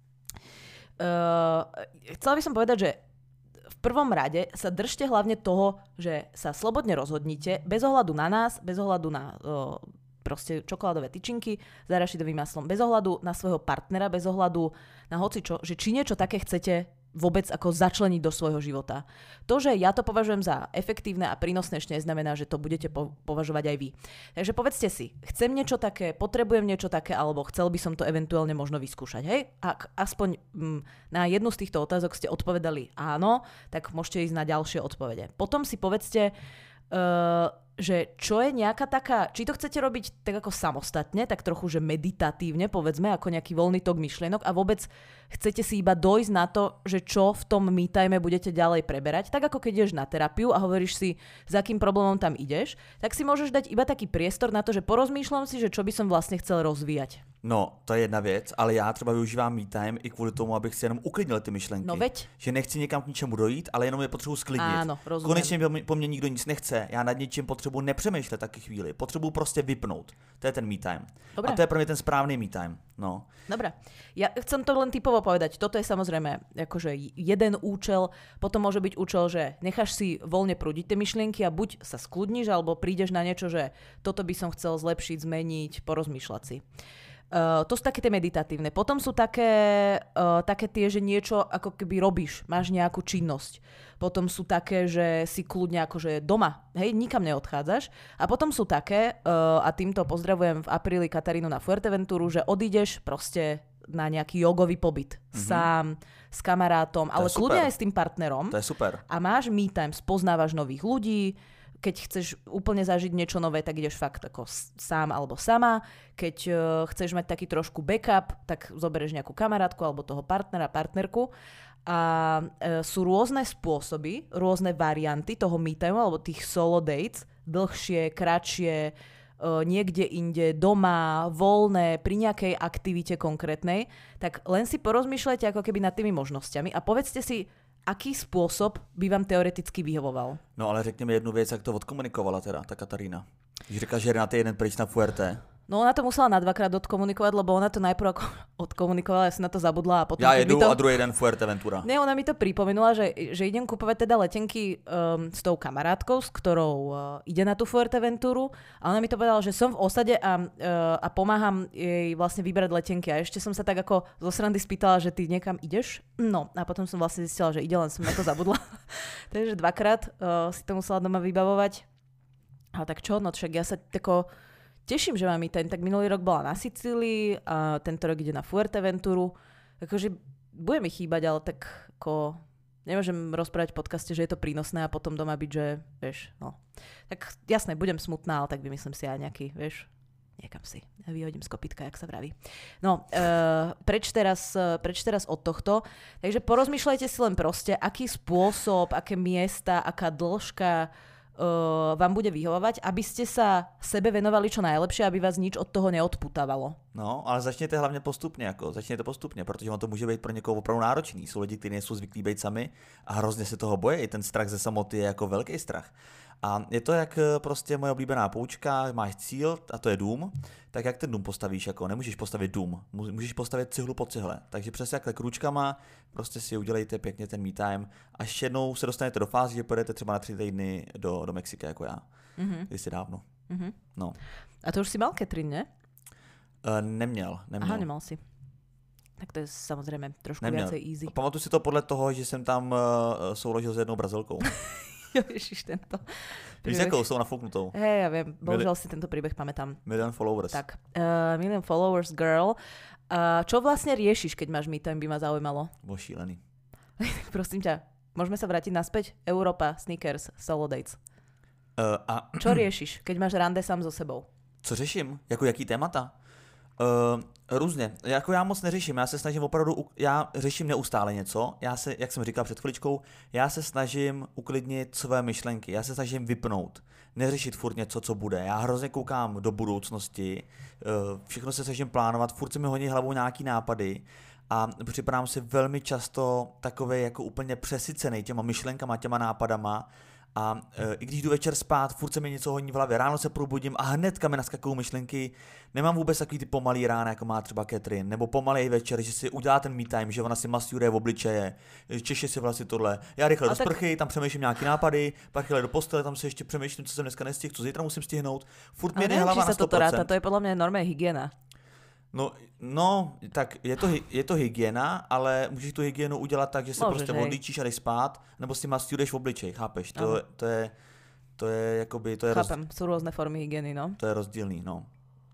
Uh, chcela by som povedať, že v prvom rade sa držte hlavne toho, že sa slobodne rozhodnite, bez ohľadu na nás, bez ohľadu na uh, proste čokoládové tyčinky s arašidovým maslom, bez ohľadu na svojho partnera, bez ohľadu na hocičo, že či niečo také chcete vôbec ako začleniť do svojho života. To, že ja to považujem za efektívne a prínosné, ešte neznamená, že to budete po- považovať aj vy. Takže povedzte si, chcem niečo také, potrebujem niečo také, alebo chcel by som to eventuálne možno vyskúšať. Hej? Ak aspoň mm, na jednu z týchto otázok ste odpovedali áno, tak môžete ísť na ďalšie odpovede. Potom si povedzte, uh, že čo je nejaká taká, či to chcete robiť tak ako samostatne, tak trochu, že meditatívne, povedzme, ako nejaký voľný tok myšlienok a vôbec chcete si iba dojsť na to, že čo v tom me time budete ďalej preberať, tak ako keď ideš na terapiu a hovoríš si, s akým problémom tam ideš, tak si môžeš dať iba taký priestor na to, že porozmýšľam si, že čo by som vlastne chcel rozvíjať. No, to je jedna věc, ale já třeba využívám me time i kvůli tomu, abych si jenom uklidnil ty myšlenky. No veď. Že nechci někam k ničemu dojít, ale jenom je potřebuji sklidnit. Áno, rozumiem. Konečně po mně nikdo nic nechce, já nad něčím potřebuji nepřemýšlet taky chvíli, potřebuji prostě vypnout. To je ten me time. Dobre. A to je pro mě ten správný me time. No. Dobre. Ja chcem to len typovo povedať. Toto je samozrejme akože jeden účel, potom môže byť účel, že necháš si voľne prúdiť tie myšlienky a buď sa skľudníš, alebo prídeš na niečo, že toto by som chcel zlepšiť, zmeniť, porozmýšľať si. Uh, to sú také tie meditatívne. Potom sú také, uh, také tie, že niečo ako keby robíš, máš nejakú činnosť. Potom sú také, že si kľudne akože doma, hej, nikam neodchádzaš. A potom sú také, uh, a týmto pozdravujem v apríli Katarínu na Fuerteventuru, že odídeš proste na nejaký jogový pobyt. Mm-hmm. Sám, s kamarátom, ale kľudne aj s tým partnerom. To je super. A máš me time, spoznávaš nových ľudí. Keď chceš úplne zažiť niečo nové, tak ideš fakt ako sám alebo sama. Keď uh, chceš mať taký trošku backup, tak zoberieš nejakú kamarátku alebo toho partnera, partnerku. A uh, sú rôzne spôsoby, rôzne varianty toho me time alebo tých solo dates. Dlhšie, kratšie, uh, niekde inde, doma, voľné, pri nejakej aktivite konkrétnej. Tak len si porozmýšľajte ako keby nad tými možnosťami a povedzte si, aký spôsob by vám teoreticky vyhovoval? No ale řekněme jednu věc, jak to odkomunikovala teda, ta Katarína. Když říká, že jde na ty jeden pryč na Fuerte. No ona to musela na dvakrát odkomunikovať, lebo ona to najprv ako odkomunikovala, ja si na to zabudla a potom... Ja jedu to... a druhý den Fuerteventura. Ne, ona mi to pripomenula, že, že idem kupovať teda letenky um, s tou kamarátkou, s ktorou uh, ide na tú Fuerteventuru a ona mi to povedala, že som v osade a, uh, a pomáham jej vlastne vybrať letenky a ešte som sa tak ako zo srandy spýtala, že ty niekam ideš? No a potom som vlastne zistila, že ide, len som na to zabudla. Takže dvakrát uh, si to musela doma vybavovať. Ale tak čo, no však ja sa tako... Teším, že mám i ten, tak minulý rok bola na Sicílii a tento rok ide na Fuerteventuru. Akože bude mi chýbať, ale tak ako nemôžem rozprávať v podcaste, že je to prínosné a potom doma byť, že vieš, no. Tak jasné, budem smutná, ale tak vymyslím si aj nejaký, vieš, niekam si vyhodím z kopytka, jak sa vraví. No, uh, preč, teraz, uh, preč teraz od tohto. Takže porozmýšľajte si len proste, aký spôsob, aké miesta, aká dĺžka Uh, vám bude vyhovovať, aby ste sa sebe venovali čo najlepšie, aby vás nič od toho neodputávalo. No, ale začněte hlavně postupně, jako, začněte postupně, protože on to může být pro někoho opravdu náročný. Jsou lidi, kteří nejsou zvyklí být sami a hrozně se toho bojí. I ten strach ze samoty je jako velký strach. A je to jak prostě moje oblíbená poučka, máš cíl a to je dům, tak jak ten dům postavíš, jako nemůžeš postavit dům, můžeš postavit cihlu po cihle. Takže přesně jak kručkama, prostě si udělejte pěkně ten me time a ještě jednou se dostanete do fáze, že pojedete třeba na tři týdny do, do Mexika, jako já. Mm-hmm. Kdysi dávno. Mm-hmm. No. A to už si mal Catherine, ne? Uh, neměl, neměl. Aha, nemal si. Tak to je samozřejmě trošku neměl. viacej easy. Pamatuju si to podle toho, že jsem tam uh, souložil s jednou Brazilkou. Ježiš, tento Víš, jakou jsou nafouknutou? Hej, ja viem, bohužiaľ si tento príbeh pamätám. Million followers. Tak, uh, million followers girl. Uh, čo vlastne riešiš, keď máš me time, by ma zaujímalo? Bo šílený. Prosím ťa, môžeme sa vrátiť naspäť? Európa, sneakers, solo dates. Uh, a... Čo riešiš, keď máš rande sám so sebou? Co řeším? Jako jaký témata? Uh, různě. Jako já moc neřeším, já se snažím opravdu, já řeším neustále něco, já se, jak jsem říkal před chviličkou, já se snažím uklidnit své myšlenky, já se snažím vypnout, neřešit furt něco, co bude, já hrozně koukám do budoucnosti, uh, všechno se snažím plánovat, furt se mi honí hlavou nějaký nápady a připadám si velmi často takovej jako úplně přesycený těma myšlenkama, těma nápadama. A e, i když jdu večer spát, furt se mi něco honí v hlavě, ráno se probudím a hnedka mi naskakují myšlenky. Nemám vůbec takový ty pomalý rána, jako má třeba Catherine, nebo pomalej večer, že si udělá ten me time, že ona si masturuje v obličeje, češe si vlastně tohle. Já rychle a do tak... sprchy, tam přemýšlím nějaký nápady, pak rychle do postele, tam se ještě přemýšlím, co jsem dneska nestihl, co zítra musím stihnout. Furt mi jde hlava na sto procent. To, ráta, to je podle mě normální hygiena. No, no, tak je to, je to hygiena, ale můžeš tu hygienu udělat tak, že se Můžeš, prostě odlíčíš a jdeš spát, nebo si masturuješ v obličej, chápeš? To, to je, to je jakoby, to je Chápem, roz... jsou různé formy hygieny, no. To je rozdílný, no.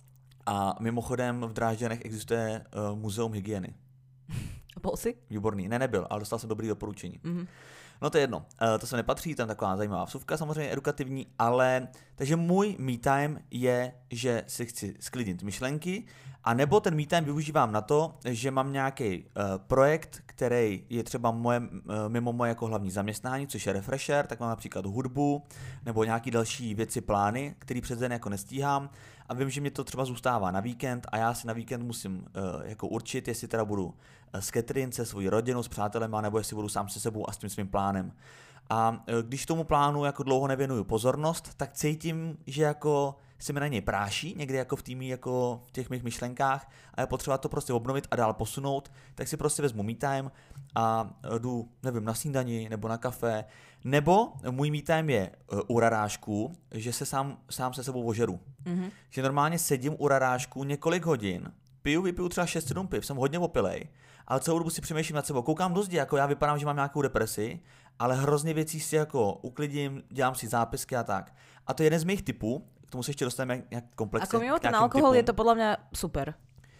A mimochodem v Drážďanech existuje uh, muzeum hygieny. Byl jsi? Výborný, ne, nebyl, ale dostal jsem dobrý doporučení. Mm-hmm. No to je jedno, uh, to se nepatří, tam taková zajímavá vsuvka, samozřejmě edukativní, ale takže můj me time je, že si chci sklidnit myšlenky, a nebo ten me time využívám na to, že mám nějaký uh, projekt, který je třeba moje, uh, mimo moje jako hlavní zaměstnání, což je refresher, tak mám například hudbu nebo nějaký další věci, plány, který přes den jako nestíhám, a vím, že mě to třeba zůstává na víkend a já si na víkend musím uh, jako určit, jestli teda budu uh, s Catherine, se svojí rodinou, s přátelema, nebo jestli budu sám se sebou a s tím svým plánem. A uh, když tomu plánu jako dlouho nevěnuju pozornost, tak cítím, že jako se mi na něj práší, někdy jako v týmí, jako v těch mých myšlenkách, a je potřeba to prostě obnovit a dál posunout, tak si prostě vezmu me time a jdu, nevím, na snídani nebo na kafe, nebo můj me time je u rarážků, že se sám, sám se sebou ožeru. Mm-hmm. Že normálně sedím u rarážků několik hodin, piju, vypiju třeba šest sedm piv, jsem hodně opilej, ale celou dobu si přemýšlím nad sebou, koukám do zdi, jako já vypadám, že mám nějakou depresi, ale hrozně věcí si jako uklidím, dělám si zápisky a tak. A to je jeden z mých typů, k tomu se ještě dostaneme nějak komplexně. Ako mimo ten alkohol typům. Je to podle mě super.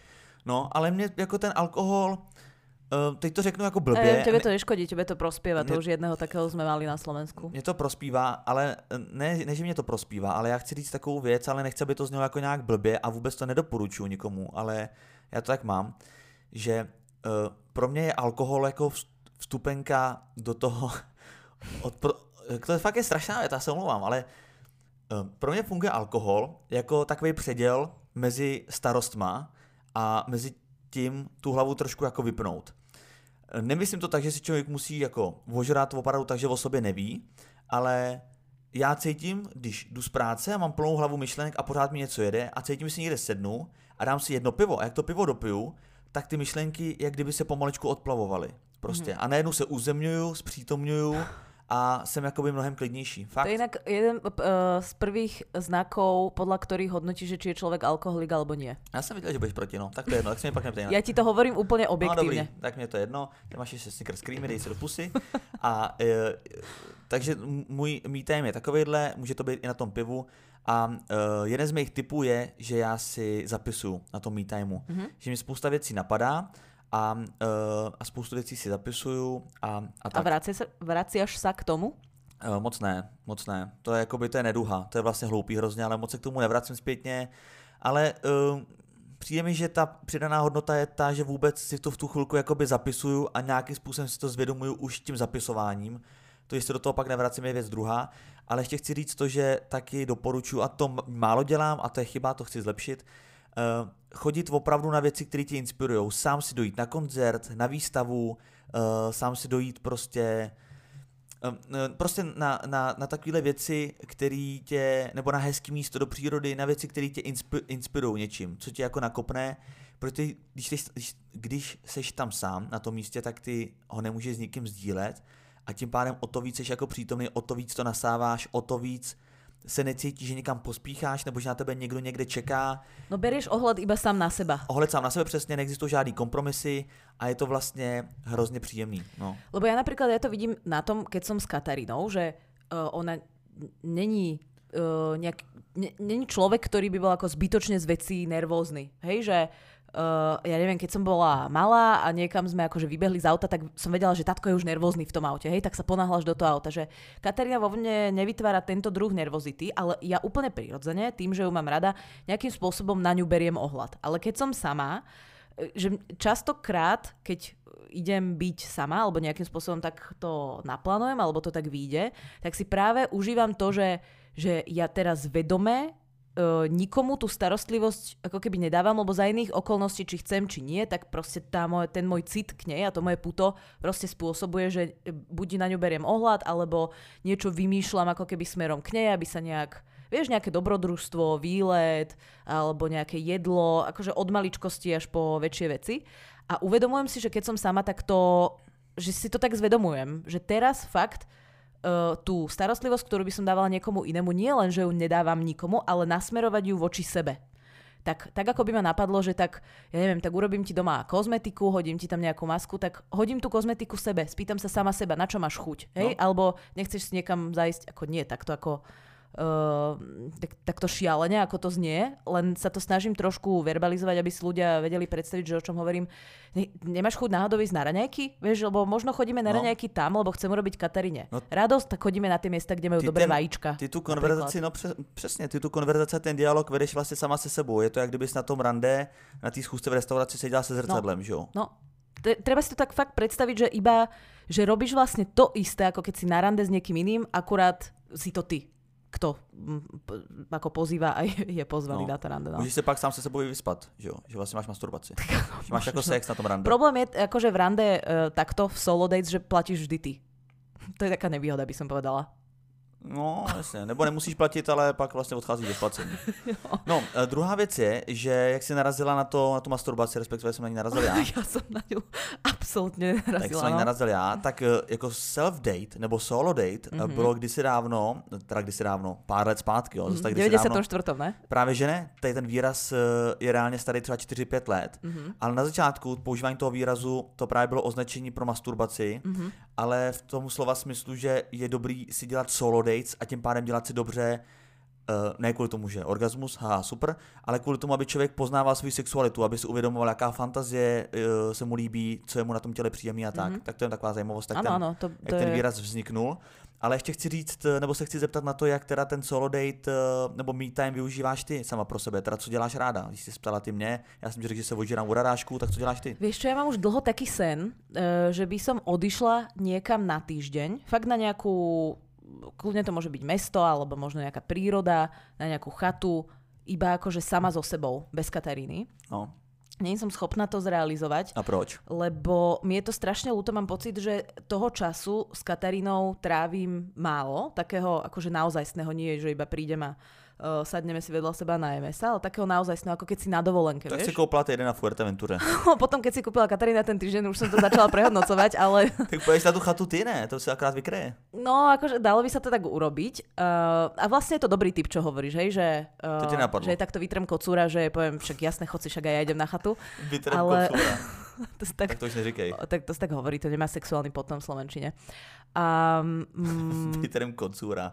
No, ale mě jako ten alkohol, uh, teď to řeknu jako blbě. E, tebe to neškodí, tebe to prospíva, to už jedného takého jsme mali na Slovensku. Mě to prospívá, ale ne, ne, že mě to prospívá, ale já chci říct takovou věc, ale nechci, aby to znělo jako nějak blbě a vůbec to nedoporučuji nikomu, ale já to tak mám, že uh, pro mě je alkohol jako vstupenka do toho, od, pro, to je fakt je strašná věc, já se omlouvám, ale pro mě funguje alkohol jako takový předěl mezi starostma a mezi tím tu hlavu trošku jako vypnout. Nemyslím to tak, že si člověk musí jako ožrat opravdu tak, že o sobě neví, ale já cítím, když jdu z práce a mám plnou hlavu myšlenek a pořád mi něco jede a cítím, že si někde sednu a dám si jedno pivo a jak to pivo dopiju, tak ty myšlenky jak kdyby se pomalečku odplavovaly. Prostě. Mm. A najednou se uzemňuju, zpřítomňuju a jsem jakoby mnohem klidnější. Fakt? To je jinak jeden uh, z prvých znakov, podľa ktorých hodnotíš, že či je človek alkoholik alebo nie. Já jsem viděl, že budeš proti, no. Tak to je jedno, tak se mě pak neptej. Já ti to hovorím úplně objektívne. No dobrý, tak mě to jedno. Ty máš ještě Snickers Creamy, dej si do pusy. A e, takže můj me time je takovejhle, může to být i na tom pivu. A e, jeden z mých tipů je, že já si zapisuju na tom me timeu. Mm-hmm. Že mi spousta věcí napadá. A, uh, a spoustu věcí si zapisuju a, a tak. A vraciaš sa k tomu? Uh, moc ne, moc ne. To je jakoby, to je neduha, to je vlastně hloupý hrozně, ale moc se k tomu nevracím zpětně. Ale uh, přijde mi, že ta přidaná hodnota je ta, že vůbec si to v tu chvilku jakoby zapisuju a nějakým způsobem si to zvědomuju už tím zapisováním. To, jestli do toho pak nevracím, je věc druhá. Ale ještě chci říct to, že taky doporučuji, a to málo dělám, a to je chyba, to chci zlepšit, Uh, chodit opravdu na věci, které tě inspirujou. Sám si dojít na koncert, na výstavu, uh, sám si dojít prostě uh, prostě na, na, na takovéhle věci, které tě, nebo na hezký místo do přírody, na věci, které tě inspi, inspirují něčím, co tě jako nakopne, protože když, když, když, když seš tam sám na tom místě, tak ty ho nemůžeš s nikým sdílet a tím pádem o to víc seš jako přítomný, o to víc to nasáváš, o to víc se necítíš, že někam pospícháš, nebo že na tebe někdo někde čeká. No berieš ohled iba sám na seba. Ohled sám na sebe, přesně, neexistují žádný kompromisy a je to vlastně hrozně příjemný. No. Lebo ja napríklad, ja to vidím na tom, keď som s Katarínou, že uh, ona není uh, nejak, ne, není človek, ktorý by bol ako zbytočne z vecí nervózny. Hej, že Uh, ja neviem, keď som bola malá a niekam sme akože vybehli z auta, tak som vedela, že tatko je už nervózny v tom aute, hej, tak sa ponáhľaš do toho auta, že Katarína vo mne nevytvára tento druh nervozity, ale ja úplne prirodzene, tým, že ju mám rada, nejakým spôsobom na ňu beriem ohľad. Ale keď som sama, že častokrát, keď idem byť sama, alebo nejakým spôsobom tak to naplánujem, alebo to tak vyjde, tak si práve užívam to, že, že ja teraz vedome Uh, nikomu tú starostlivosť ako keby nedávam, lebo za iných okolností, či chcem, či nie, tak proste tá moje, ten môj cit k nej a to moje puto proste spôsobuje, že buď na ňu beriem ohľad, alebo niečo vymýšľam ako keby smerom k nej, aby sa nejak, vieš, nejaké dobrodružstvo, výlet, alebo nejaké jedlo, akože od maličkosti až po väčšie veci. A uvedomujem si, že keď som sama, tak to, že si to tak zvedomujem, že teraz fakt Uh, tú starostlivosť, ktorú by som dávala niekomu inému, nie len, že ju nedávam nikomu, ale nasmerovať ju voči sebe. Tak, tak ako by ma napadlo, že tak, ja neviem, tak urobím ti doma kozmetiku, hodím ti tam nejakú masku, tak hodím tú kozmetiku sebe, spýtam sa sama seba, na čo máš chuť, hej? No. Alebo nechceš si niekam zajsť, ako nie, takto ako uh, tak, takto šialene, ako to znie, len sa to snažím trošku verbalizovať, aby si ľudia vedeli predstaviť, že o čom hovorím. Ne, nemáš chuť náhodou ísť na raňajky? Vieš, lebo možno chodíme na no. raňajky tam, lebo chceme robiť Kataríne. No. Radosť, tak chodíme na tie miesta, kde majú ty dobré ten, vajíčka. Ty tu konverzaci, no přes, přesně, ty tu konverzaci, ten dialog vedeš vlastně sama se sebou. Je to, jak kdybys na tom rande, na té schůzce v restauraci seděla se zrcadlem, no. že jo? No. Treba si to tak fakt predstaviť, že iba, že robíš vlastne to isté, ako keď si na rande s niekým iným, akurát si to ty, kto ako pozýva a je, je pozvaný no. na to rande. No. Můžeš se pak sám se sebou vyspat, že jo? Že vlastne máš masturbaci. Že máš ako sex na tom rande. Problém je akože v rande uh, takto v solo dates, že platíš vždy ty. To je taká nevýhoda, by som povedala. No, jasně, nebo nemusíš platit, ale pak vlastně odcházíš do placení. No, druhá věc je, že jak jsi narazila na, to, na tu masturbaci, respektive jsem na ní narazil já. Já jsem na ní absolutně narazila. Tak jsem na ní narazil já, tak jako self-date nebo solo date mm-hmm. bylo kdysi dávno, teda kdysi dávno, pár let zpátky, jo, zase tak kdysi devadesát štyri, ne? Právě že ne, tady ten výraz je reálně starý třeba čtyři pět let, mm-hmm. ale na začátku používání toho výrazu to právě bylo označení pro masturbaci, mm-hmm. ale v tom slova smyslu, že je dobrý si dělat solo date a tím pádem dělat si dobře, uh, ne kvůli tomu, že orgasmus, haha, super, ale kvůli tomu, aby člověk poznával svou sexualitu, aby si uvědomoval, jaká fantazie uh, se mu líbí, co je mu na tom těle příjemný a tak. Mm-hmm. Tak to je taková zajímavost, tak ano, ten, ano, to, to jak je... ten výraz vzniknul. Ale ještě chci říct, nebo se chci zeptat na to, jak teda ten solo date uh, nebo me time využíváš ty sama pro sebe, teda co děláš ráda? Když jsi ptala ty mě, já jsem ti řekl, že se odžírám u radášku, tak co děláš ty? Vieš čo, ja mám už dlho taký sen, uh, že by som odišla niekam na týždeň, fakt na nejakú, kľudne to môže byť mesto, alebo možno nejaká príroda, na nejakú chatu, iba akože sama so sebou, bez Kataríny. No. Nie som schopná to zrealizovať. A proč? Lebo mi je to strašne ľúto, mám pocit, že toho času s Katarínou trávim málo, takého akože naozajstného, nie je, že iba prídem a uh, sadneme si vedľa seba a najeme sa, ale takého naozajstného, ako keď si na dovolenke, tak vieš? si koupila jeden na Fuerteventure. Potom, keď si kúpila Katarína ten týždeň, už som to začala prehodnocovať, ale... Tak pôjdeš na tú chatu ty, ne? To si akrát vykreje. No, akože dalo by sa to tak urobiť. Uh, a vlastne je to dobrý tip, čo hovoríš, hej? Že, uh, to ti napadlo. Že takto vytrem kocúra, že poviem, však jasné, chod si, však aj ja idem na chatu. Vytrem ale... kocúra. to tak, tak to už neříkej. Tak to si tak hovorí, to nemá sexuálny potom v slovenčine. Um, mm, Vytrem kocúra.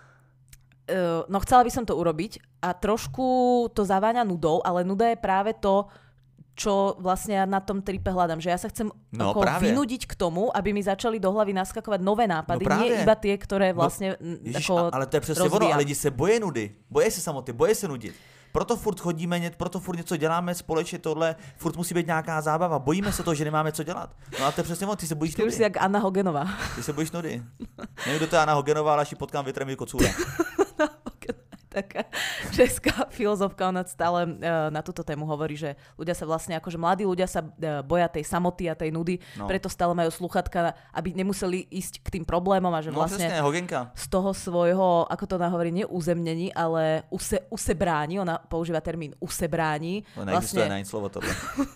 Uh, no chcela by som to urobiť a trošku to zaváňa nudou, ale nuda je práve to, čo vlastne ja na tom tripe hľadám, že ja sa chcem no, ako vynúdiť k tomu, aby mi začali do hlavy naskakovať nové nápady, no, nie iba tie, ktoré vlastne no, ježiš, ako ale to je přesně ono, a lidi se boje nudy, boje se samoty, boje se nudit. Proto furt chodíme, proto furt něco děláme společně tohle, furt musí být nějaká zábava, bojíme se toho, že nemáme co dělat. No a to je přesně ono, ty se bojíš ty nudy. Ty už si jak Anna Hogenová. Ty se bojíš nudy. Nevím, kdo to je Anna Hogenová, ale až ji potkám, vytrem kocúra. Taká česká filozofka, ona stále uh, na túto tému hovorí, že ľudia sa vlastne, akože mladí ľudia sa uh, boja tej samoty a tej nudy, no. Preto stále majú sluchatka, aby nemuseli ísť k tým problémom a že no, vlastne presne, Hogenka. Z toho svojho, ako to ona hovorí, nie uzemnení, ale use, usebráni, ona používa termín usebráni. No neexistuje vlastne... na slovo tohle.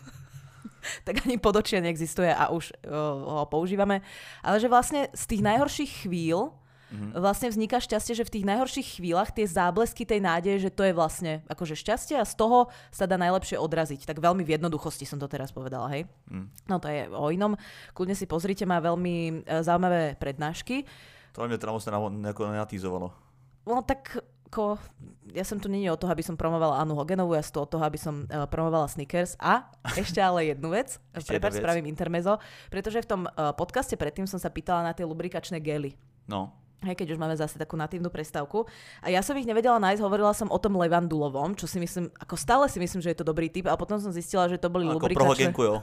Tak ani podočie neexistuje a už uh, ho používame. Ale že vlastne z tých najhorších chvíľ Mm-hmm. vlastne vzniká šťastie, že v tých najhorších chvíľach tie záblesky tej nádeje, že to je vlastne akože šťastie a z toho sa dá najlepšie odraziť. Tak veľmi v jednoduchosti som to teraz povedala, hej? Mm. No to je o inom. Kľudne si pozrite, má veľmi uh, zaujímavé prednášky. To mňa teda moc nenatýzovalo. No tak ako, ja som tu nie o toho, aby som promovala Annu Hogenovú, ja som tu o toho, aby som uh, promovala Snickers a ešte ale jednu vec, prepáč, spravím intermezo, pretože v tom uh, podcaste predtým som sa pýtala na tie lubrikačné gely. No. Hej, keď už máme zase takú natívnu prestávku. A ja som ich nevedela nájsť, hovorila som o tom levandulovom, čo si myslím, ako stále si myslím, že je to dobrý typ, a potom som zistila, že to boli ako lubrikačné. Ako pro Hogenku, jo.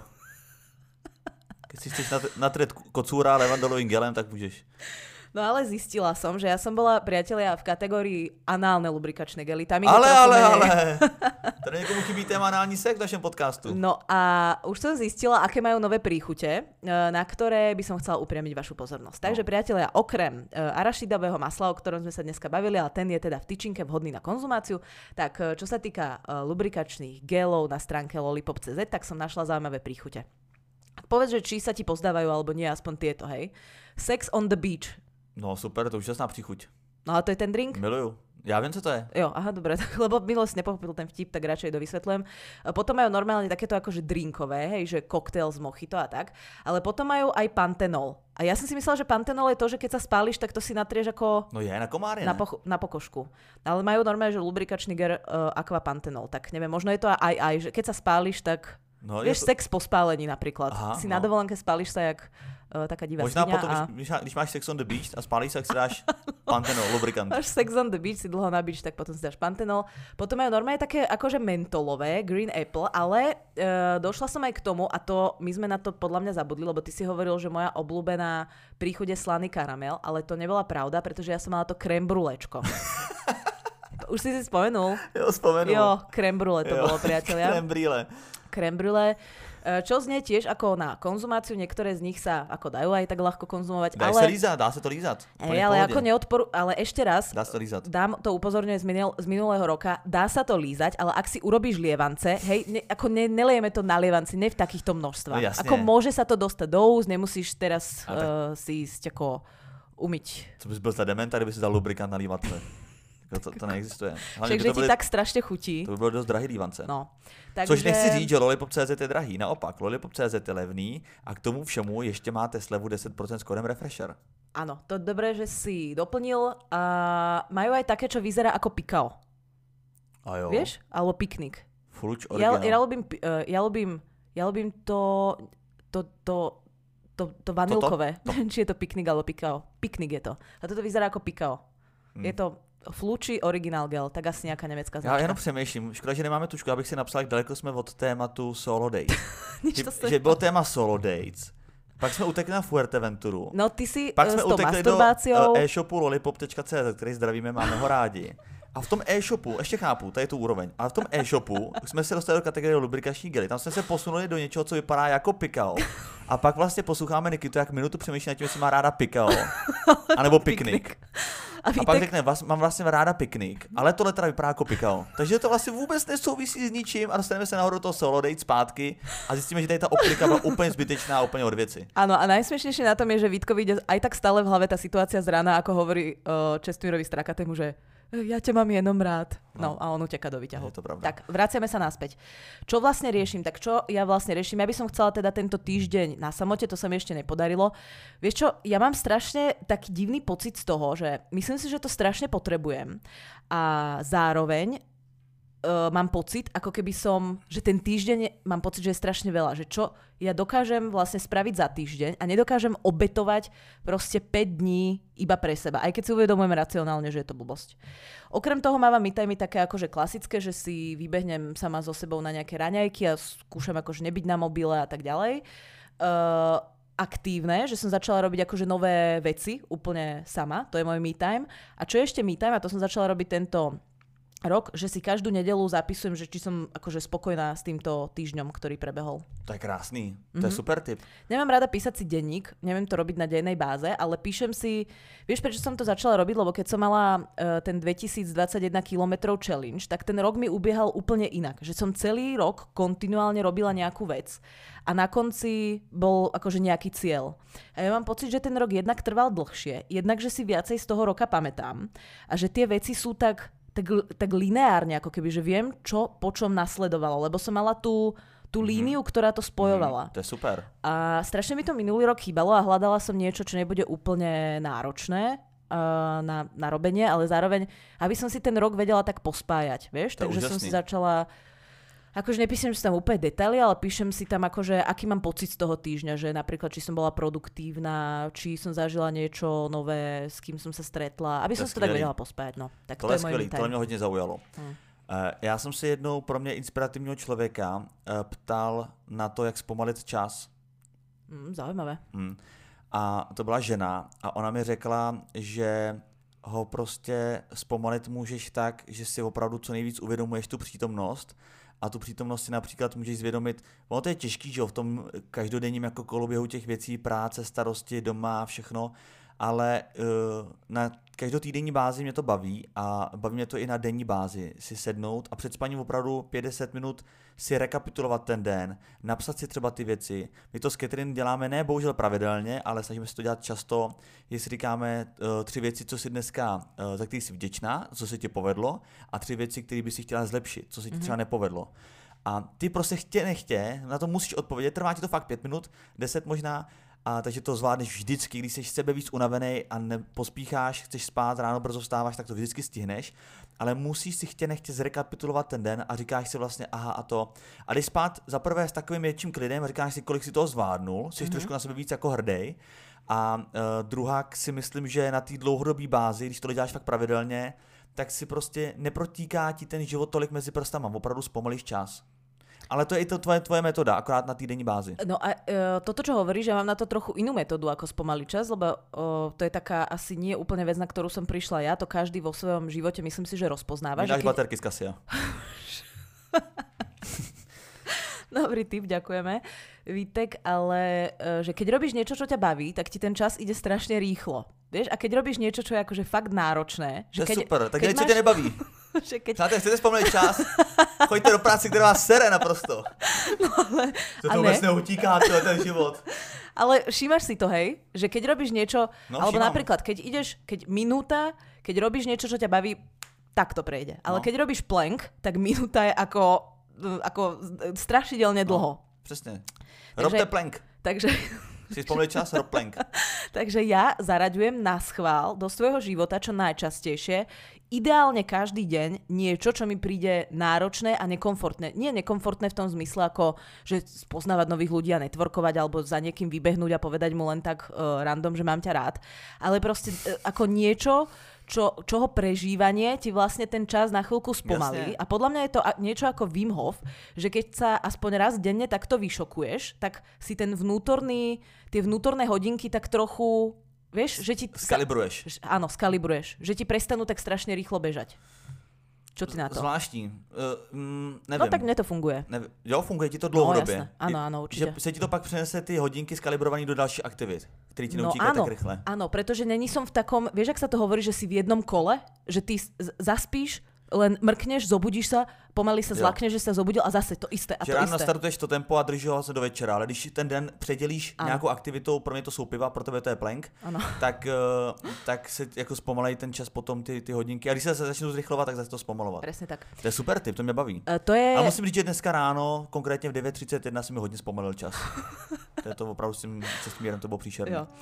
Keď si chceš natrieť kocúra levandulovým gelem, tak môžeš. No ale zistila som, že ja som bola, priatelia, v kategórii análne lubrikačné gely. Tam ale, ale, ale. Teda niekomu chybí téma anální sex v našem podcastu. No a už som zistila, aké majú nové príchute, na ktoré by som chcela upriamiť vašu pozornosť. Takže, no. priatelia, okrem arašidového masla, o ktorom sme sa dneska bavili, ale ten je teda v tyčinke vhodný na konzumáciu, tak čo sa týka lubrikačných gelov na stránke lollipop bodka cé zet, tak som našla zaujímavé príchute. Povedz, že či sa ti pozdávajú, alebo nie, aspoň tieto, hej. Sex on the beach. No super, to už jasná příchuť. No a to je ten drink? Miluju. Ja viem, co to je. Jo, aha, dobre, lebo Milo si nepochopil ten vtip, tak radšej dovysvetľujem. Potom majú normálne takéto akože drinkové, hej, že koktail z mojito a tak, ale potom majú aj pantenol. A ja som si myslela, že pantenol je to, že keď sa spáliš, tak to si natrieš ako... No je na komáre, na, poch- na pokožku. Ale majú normálne, že lubrikačný ger uh, aqua pantenol. Tak neviem, možno je to aj aj, že keď sa spáliš, tak... No, vieš, to... sex po spálení napríklad. Aha, si no. Na dovolenke spálíš sa jak uh, taká divá možná svinia. Možná potom, a... když, když máš sex on the beach a spálíš sa, tak si dáš pantenol, lubrikant. Máš sex on the beach, si dlho na beach, tak potom si dáš pantenol. Potom majú normálne také akože mentolové, green apple, ale uh, došla som aj k tomu, a to my sme na to podľa mňa zabudli, lebo ty si hovoril, že moja obľúbená príchuť je slaný karamel, ale to nebola pravda, pretože ja som mala to crème brulečko. Už si si spomenul? Jo, spomenul. Jo, crème brûlée to jo, bolo, priatelia. Crème brûlée. Crème brûlée. Čo znie tiež ako na konzumáciu, niektoré z nich sa ako dajú aj tak ľahko konzumovať. Dá ale... sa lízať, dá sa to lízať. Ej, ale ako neodporu... Ale ešte raz, dá sa to lízať. Dám to upozorňujem z, minul... z minulého roka, dá sa to lízať, ale ak si urobíš lievance, hej, ne, ako ne, nelejeme to na lievanci, ne v takýchto množstvách. No, ako môže sa to dostať do úst, nemusíš teraz uh, si ísť ako umyť. Co bys byl za dementa, kdyby si dal lubrikant na lívatce? To, to neexistuje. Však, že ti byli, tak strašne chutí. To by bylo dost drahý lívance. No. Takže... Což nechci říct, že Lollipop tečka cé zet je drahý. Naopak, Lollipop tečka cé zet je levný a k tomu všemu ještě máte slevu deset procent s kódem Refresher. Áno, to je dobré, že si doplnil. A majú aj také, čo vyzerá ako pikao. A jo. Vieš? Alebo piknik. Fluč originál. Ja, ja, ľubím, ja, ľubím, ja ľubím to, to, to, to, to vanilkové. To, to. Či je to piknik alebo pikao. Piknik je to. A toto vyzerá ako pikao. Hmm. Je to Fluči originál gel, tak asi nějaká německá značka. Já jenom přemýšlím, škoda, že nemáme tušku, abych si napsal, jak daleko jsme od tématu Solo Dates. že, že bylo téma Solo Dates, pak jsme utekli na Fuerteventuru. No ty si pak jsme s tou utekli masturbáciou... do e-shopu Lollipop tečka cé zet, který zdravíme, máme ho rádi. A v tom e-shopu, ještě chápu, tady je tu úroveň, ale v tom e-shopu jsme se dostali do kategorie lubrikační gely. Tam jsme se posunuli do něčeho, co vypadá jako pikao. A pak vlastně posloucháme Nikitu, jak minutu přemýšlí nad tím, jestli má ráda pikao, anebo piknik. A, a pak řekne, vás, mám vlastně ráda piknik, ale tohle teda vypadá jako pikao. Takže to vlastně vůbec nesouvisí s ničím a dostaneme se nahoru toho Solo Date zpátky a zjistíme, že tady ta optika byla úplně zbytečná a úplně od věci. Áno, a najsmiešnejšie na tom je, že Vítkovi ide aj tak stále v hlave tá situácia z rána, ako hovorí uh, Čestmírovi Strakatému, že ja ťa mám jenom rád. No, no a on uteká do výťahu. Je to pravda. Tak, vraciame sa naspäť. Čo vlastne riešim? Tak čo ja vlastne riešim? Ja by som chcela teda tento týždeň na samote, to sa mi ešte nepodarilo. Vieš čo, ja mám strašne taký divný pocit z toho, že myslím si, že to strašne potrebujem. A zároveň uh, mám pocit, ako keby som, že ten týždeň mám pocit, že je strašne veľa. Že čo ja dokážem vlastne spraviť za týždeň a nedokážem obetovať proste päť dní iba pre seba. Aj keď si uvedomujem racionálne, že je to blbosť. Okrem toho mávam me time také akože klasické, že si vybehnem sama so sebou na nejaké raňajky a skúšam akože nebyť na mobile a tak ďalej. Uh, aktívne, že som začala robiť akože nové veci úplne sama. To je môj me time. A čo je ešte me time, a to som začala robiť tento rok, že si každú nedeľu zapisujem, že či som akože spokojná s týmto týždňom, ktorý prebehol. To je krásný, to mm-hmm. je super tip. Nemám rada písať si denník, neviem to robiť na dennej báze, ale píšem si, vieš prečo som to začala robiť, lebo keď som mala uh, ten dvetisícdvadsaťjeden kilometrov challenge, tak ten rok mi ubiehal úplne inak, že som celý rok kontinuálne robila nejakú vec a na konci bol akože nejaký cieľ. A ja mám pocit, že ten rok jednak trval dlhšie, jednak, že si viacej z toho roka pamätám a že tie veci sú tak Tak, tak lineárne, ako keby, že viem, čo po čom nasledovalo, lebo som mala tú, tú líniu, mm. ktorá to spojovala. Mm, to je super. A strašne mi to minulý rok chýbalo a hľadala som niečo, čo nebude úplne náročné uh, na, na robenie, ale zároveň, aby som si ten rok vedela tak pospájať, vieš? To Takže úžasný. som si začala... Akože nepíšem si tam úplne detaily, ale píšem si tam akože, aký mám pocit z toho týždňa, že napríklad, či som bola produktívna, či som zažila niečo nové, s kým som sa stretla, aby som si to tak vedela pospájať. No. Tak to, to je je skvělý, môj to mě hodně zaujalo. Hmm. Uh, já jsem se jednou pro mě inspirativního člověka uh, ptal na to, jak zpomalit čas. Hmm, zaujímavé. Hmm. A to byla žena a ona mi řekla, že ho prostě zpomalit můžeš tak, že si opravdu co nejvíc uvědomuješ tu přítomnost. A tu přítomnost si například můžeš zvědomit, ono to je těžký, že v tom každodenním jako koloběhu těch věcí, práce, starosti, doma, všechno, ale uh, na každotýdenní bázi mě to baví a baví mě to i na denní bázi si sednout a před spaním opravdu pět deset minut si rekapitulovat ten den, napsat si třeba ty věci. My to s Catherine děláme ne bohužel pravidelně, ale snažíme se to dělat často, jestli říkáme uh, tři věci, co si dneska, uh, za který jsi vděčná, co se ti povedlo a tři věci, které by si chtěla zlepšit, co se ti mm-hmm. třeba nepovedlo. A ty prostě chtě nechtě, na to musíš odpovědět, trvá ti to fakt pět minut, deset možná, a takže to zvládneš vždycky, když jsi sebe víc unavený a nepospícháš, chceš spát, ráno brzo vstáváš, tak to vždycky stihneš, ale musíš si chtě nechtě zrekapitulovat ten den a říkáš si vlastně aha a to. A když spát za prvé s takovým větším klidem, říkáš si, kolik si toho zvládnul, jsi mm-hmm. trošku na sebe víc jako hrdej. A uh, druhá si myslím, že na té dlouhodobé bázi, když to děláš fakt pravidelně, tak si prostě neprotíká ti ten život tolik mezi prstama, opravdu zpomalíš čas. Ale to je i to tvoje, tvoje metoda, akorát na týdenní bázi. No a uh, toto, čo hovoríš, že mám na to trochu inú metódu ako spomaliť čas, lebo uh, to je taká asi nie úplne vec, na ktorú som prišla ja, to každý vo svojom živote myslím si, že rozpoznáva. Nedáš keď... baterky z Cassia. Dobrý tip, ďakujeme, Vítek, ale uh, že keď robíš niečo, čo ťa baví, tak ti ten čas ide strašne rýchlo. Vieš? A keď robíš niečo, čo je akože fakt náročné... Že to je keď, super, tak niečo máš... ťa nebaví. že keď... Přátelé, chcete spomínať čas? Choďte do práce, ktorá vás sere naprosto. No, ale... To to vôbec neutíká, to je ten život. Ale všímaš si to, hej? Že keď robíš niečo... No, alebo všímam. napríklad, keď ideš, keď minúta, keď robíš niečo, čo ťa baví, tak to prejde. Ale no. keď robíš plank, tak minúta je ako, ako strašidelne dlho. No, přesne. Robte plank. Takže... Si spomínali čas, rob plank. Takže ja zaraďujem na schvál do svojho života čo najčastejšie, ideálne každý deň niečo, čo mi príde náročné a nekomfortné. Nie nekomfortné v tom zmysle ako, že spoznávať nových ľudí a networkovať alebo za niekým vybehnúť a povedať mu len tak uh, random, že mám ťa rád. Ale proste uh, ako niečo, čo, čoho prežívanie ti vlastne ten čas na chvíľku spomalí. Jasne. A podľa mňa je to niečo ako Wim Hof, že keď sa aspoň raz denne takto vyšokuješ, tak si ten vnútorný, tie vnútorné hodinky tak trochu, vieš, že ti... Skalibruješ. Áno, skalibruješ. Že ti prestanú tak strašne rýchlo bežať. Čo ty na to? Zvláštní. Uh, mm, nevím. No tak mne to funguje. Nevím. Jo, funguje ti to dlouhodobě. No, ano, ano, určitě. Že se ti to pak přenese ty hodinky skalibrovaný do dalších aktivit, které ti neutíkají no, tak rychle. Áno, pretože není som v takom, vieš, ak sa to hovorí, že si v jednom kole, že ty z- zaspíš, len mrkneš, zobudíš sa, pomaly sa zlakneš, že sa zobudil a zase to isté a že to ráno isté. nastartuješ to tempo a držíš ho se do večera, ale když ten den předělíš ano. nějakou aktivitou, pro mě to jsou piva, pro tebe to je plank, tak, tak se jako zpomalejí ten čas potom ty, ty hodinky. A když se začnou zrychlovat, tak zase to zpomalovat. Presne tak. To je super tip, to mě baví. Uh, to je... A musím říct, že dneska ráno, konkrétně v devět třicet jedna, si mi hodně zpomalil čas. To je to opravdu s tím cestmírem, to bylo příšerné. Jo.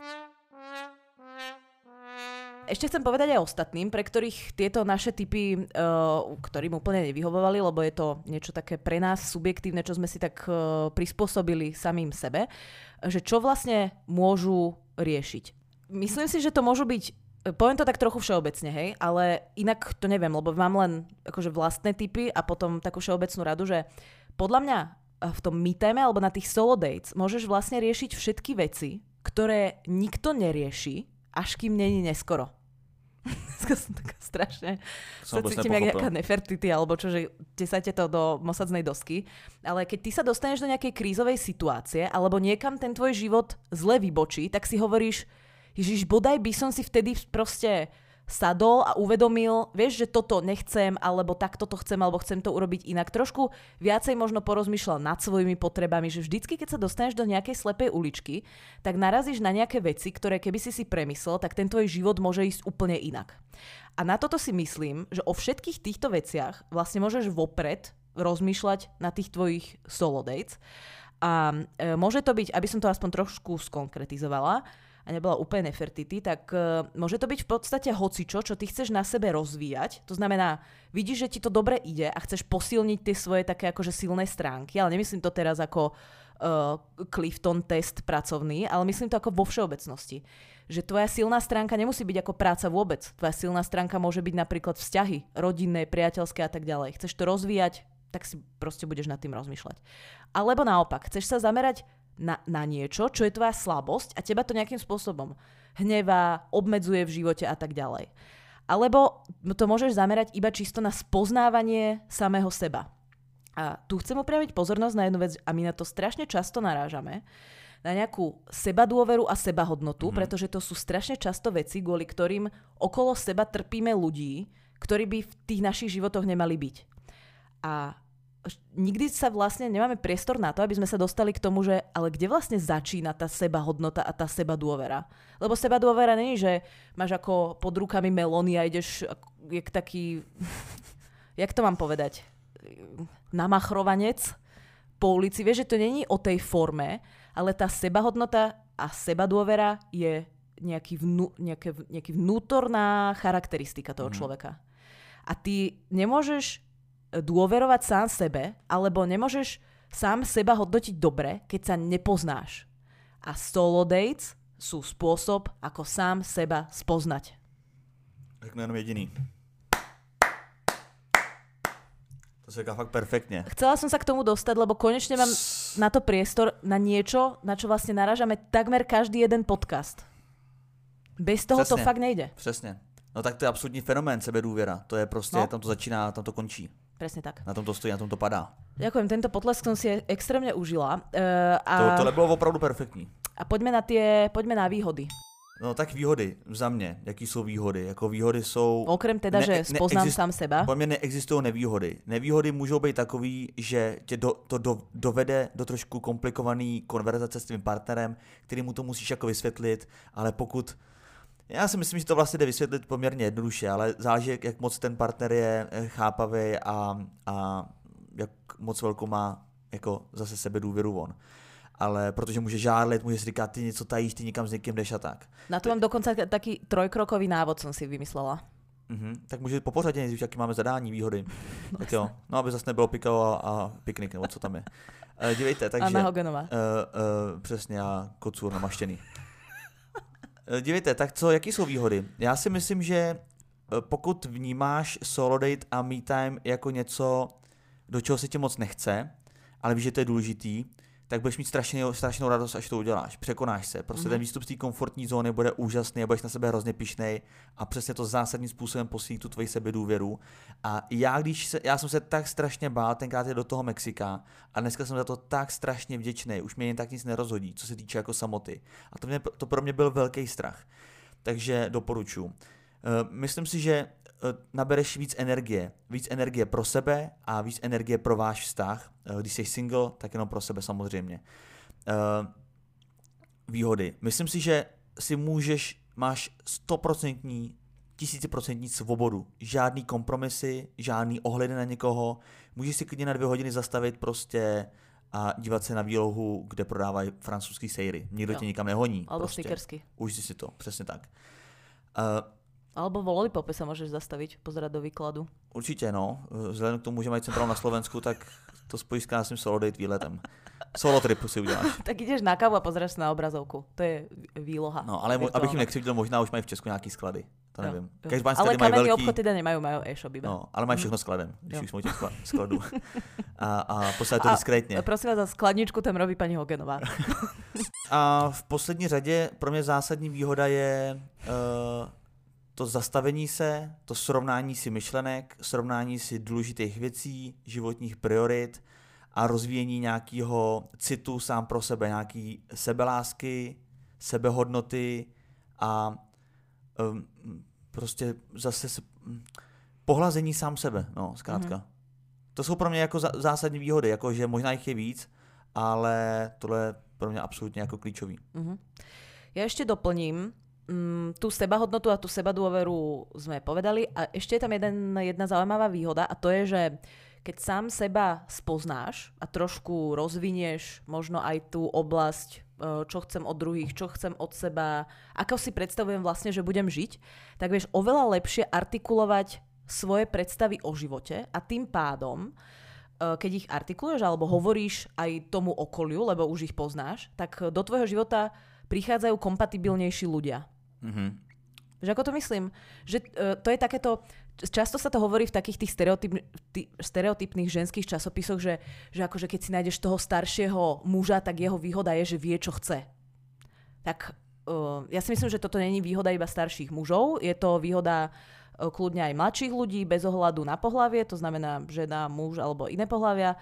Ešte chcem povedať aj ostatným, pre ktorých tieto naše typy, uh, ktorým úplne nevyhovovali, lebo je to niečo také pre nás subjektívne, čo sme si tak uh, prispôsobili samým sebe, že čo vlastne môžu riešiť. Myslím si, že to môžu byť, poviem to tak trochu všeobecne, hej, ale inak to neviem, lebo mám len akože vlastné typy a potom takú všeobecnú radu, že podľa mňa v tom me time alebo na tých solo dates môžeš vlastne riešiť všetky veci, ktoré nikto nerieši, až kým není neskoro. Dneska som taká strašne, sa cítim jak nejaká Nefertiti, alebo čo, že tesajte to do mosadznej dosky. Ale keď ty sa dostaneš do nejakej krízovej situácie, alebo niekam ten tvoj život zle vybočí, tak si hovoríš, Ježiš, bodaj by som si vtedy proste sadol a uvedomil, vieš, že toto nechcem, alebo takto to chcem, alebo chcem to urobiť inak. Trošku viacej možno porozmýšľal nad svojimi potrebami, že vždycky, keď sa dostaneš do nejakej slepej uličky, tak narazíš na nejaké veci, ktoré keby si si premyslel, tak ten tvoj život môže ísť úplne inak. A na toto si myslím, že o všetkých týchto veciach vlastne môžeš vopred rozmýšľať na tých tvojich solo dates. A e, môže to byť, aby som to aspoň trošku skonkretizovala, a nebola úplne Nefertiti, tak uh, môže to byť v podstate hocičo, čo ty chceš na sebe rozvíjať. To znamená, vidíš, že ti to dobre ide a chceš posilniť tie svoje také akože silné stránky, ale nemyslím to teraz ako uh, Clifton test pracovný, ale myslím to ako vo všeobecnosti. Že tvoja silná stránka nemusí byť ako práca vôbec. Tvoja silná stránka môže byť napríklad vzťahy, rodinné, priateľské a tak ďalej. Chceš to rozvíjať, tak si proste budeš nad tým rozmýšľať. Alebo naopak, chceš sa zamerať Na, na niečo, čo je tvoja slabosť a teba to nejakým spôsobom hnevá, obmedzuje v živote a tak ďalej. Alebo to môžeš zamerať iba čisto na spoznávanie samého seba. A tu chcem upriamiť pozornosť na jednu vec a my na to strašne často narážame, na nejakú sebadôveru a sebahodnotu, Mm-hmm. pretože to sú strašne často veci, kvôli ktorým okolo seba trpíme ľudí, ktorí by v tých našich životoch nemali byť. A nikdy sa vlastne nemáme priestor na to, aby sme sa dostali k tomu, že ale kde vlastne začína tá sebahodnota a tá sebadôvera. Lebo sebadôvera není, že máš ako pod rukami melóny a ideš jak taký, jak to mám povedať, namachrovanec po ulici. Vieš, že to není o tej forme, ale tá sebahodnota a sebadôvera je nejaký, vnú, nejaké, nejaký vnútorná charakteristika toho mm. človeka. A ty nemôžeš dôverovať sám sebe, alebo nemôžeš sám seba hodnotiť dobre, keď sa nepoznáš. A solo dates sú spôsob, ako sám seba spoznať. Řeknu jenom jediný. To sa říká fakt perfektne. Chcela som sa k tomu dostať, lebo konečne mám na to priestor na niečo, na čo vlastne narážame takmer každý jeden podcast. Bez toho Přesně. to fakt nejde. Přesně. No tak to je absolutní fenomén sebedůvěra. To je prostě, No. tam to začíná, tam to končí. Presne tak. Na tom to stojí, na tom to padá. Ďakujem, tento potlesk som si extrémne užila. Uh, a, To, tohle bylo opravdu perfektní. a poďme na tie, poďme na výhody. No tak výhody za mě. Jaký jsou výhody? Jako výhody jsou... Okrem teda, Ne- že ne- spoznám exist- sám seba. Po mně neexistují nevýhody. Nevýhody můžou být takový, že tě do, to do, dovede do trošku komplikovaný konverzace s tvým partnerem, který mu to musíš jako vysvětlit, ale pokud... Já si myslím, že to vlastně jde vysvětlit poměrně jednoduše, ale záleží, jak, jak moc ten partner je chápavý a, a jak moc velkou má jako zase sebedůvěru on. Ale protože může žárlit, může si říkat, ty něco tajíš, ty někam s někým jdeš a tak. Na to mám dokonca taký trojkrokový návod som si vymyslela. Mhm, tak může po pořadě nejdřív, jaký máme zadání, výhody. No, tak jo, no aby zase nebylo pikao a, a piknik, nebo co tam je. E, dívejte, takže... Anna Hogenová. E, e, přesně, a kocůr namaštěný. E, dívejte, tak co, jaký jsou výhody? Já si myslím, že pokud vnímáš solo date a me time jako něco, do čeho se ti moc nechce, ale víš, že to je důležitý, tak budeš mít strašně, strašnou radost, až to uděláš. Překonáš se. Prostě mm. ten výstup z té komfortní zóny bude úžasný a budeš na sebe hrozně pyšnej a přesně to zásadním způsobem posílí tu tvoji sebedůvěru. A já, když se, já jsem se tak strašně bál tenkrát je do toho Mexika a dneska jsem za to tak strašně vděčný. Už mě jen tak nic nerozhodí, co se týče jako samoty. A to, mě, to pro mě byl velký strach. Takže doporučuji. Myslím si, že nabereš víc energie. Víc energie pro sebe a víc energie pro váš vztah. Když jsi single, tak jenom pro sebe samozřejmě. Výhody. Myslím si, že si můžeš, máš stoprocentní, tisíciprocentní svobodu. Žádný kompromisy, žádný ohledy na někoho. Můžeš si klidně na dvě hodiny zastavit prostě a dívat se na výlohu, kde prodávají francouzský sejry. Nikdo jo. tě nikam nehoní. Alebo prostě. stickersky. Užij si to, přesně tak. Uh, Alebo vo Lollipope sa môžeš zastaviť, pozerať do výkladu. Určitě, no. Vzhledem k tomu, že mají centrál na Slovensku, tak to spojíš s krásným solo date výletem. Solo trip si uděláš. Tak ideš na kávu a pozeráš sa na obrazovku. To je výloha. No, ale mo- abych jim nekřivdil, možná už mají v Česku nějaký sklady. To nevím. Jo, Každý jo. Ale kamenný obchod teda nemajú, majú e-shop iba. No, ale mají všechno skladem, když Jo. už jsme u těch skladů. A, a poslali to diskrétně. A prosím vás, za skladničku tam robí paní Hogenová. A v poslední řadě pro mě zásadní výhoda je uh, to zastavení se, to srovnání si myšlenek, srovnání si důležitých věcí, životních priorit a rozvíjení nějakého citu sám pro sebe, nějaký sebelásky, sebehodnoty a um, prostě zase se, um, pohlazení sám sebe, no, zkrátka. Mm-hmm. To jsou pro mě jako za, zásadní výhody, jako že možná jich je víc, ale tohle je pro mě absolutně jako klíčový. Mm-hmm. Ja ešte doplním, Mm, tú sebahodnotu a tú sebadôveru sme povedali a ešte je tam jeden, jedna zaujímavá výhoda a to je, že keď sám seba spoznáš a trošku rozvinieš možno aj tú oblasť, čo chcem od druhých, čo chcem od seba, ako si predstavujem vlastne, že budem žiť, tak vieš oveľa lepšie artikulovať svoje predstavy o živote a tým pádom, keď ich artikuluješ alebo hovoríš aj tomu okoliu, lebo už ich poznáš, tak do tvojho života prichádzajú kompatibilnejší ľudia. Mm-hmm. Že ako to myslím? Že uh, to je takéto, často sa to hovorí v takých tých stereotyp, tý, stereotypných ženských časopisoch, že, že akože keď si nájdeš toho staršieho muža, tak jeho výhoda je, že vie, čo chce. Tak uh, ja si myslím, že toto není výhoda iba starších mužov, je to výhoda uh, kľudne aj mladších ľudí, bez ohľadu na pohlavie, to znamená žena, muž alebo iné pohlavia.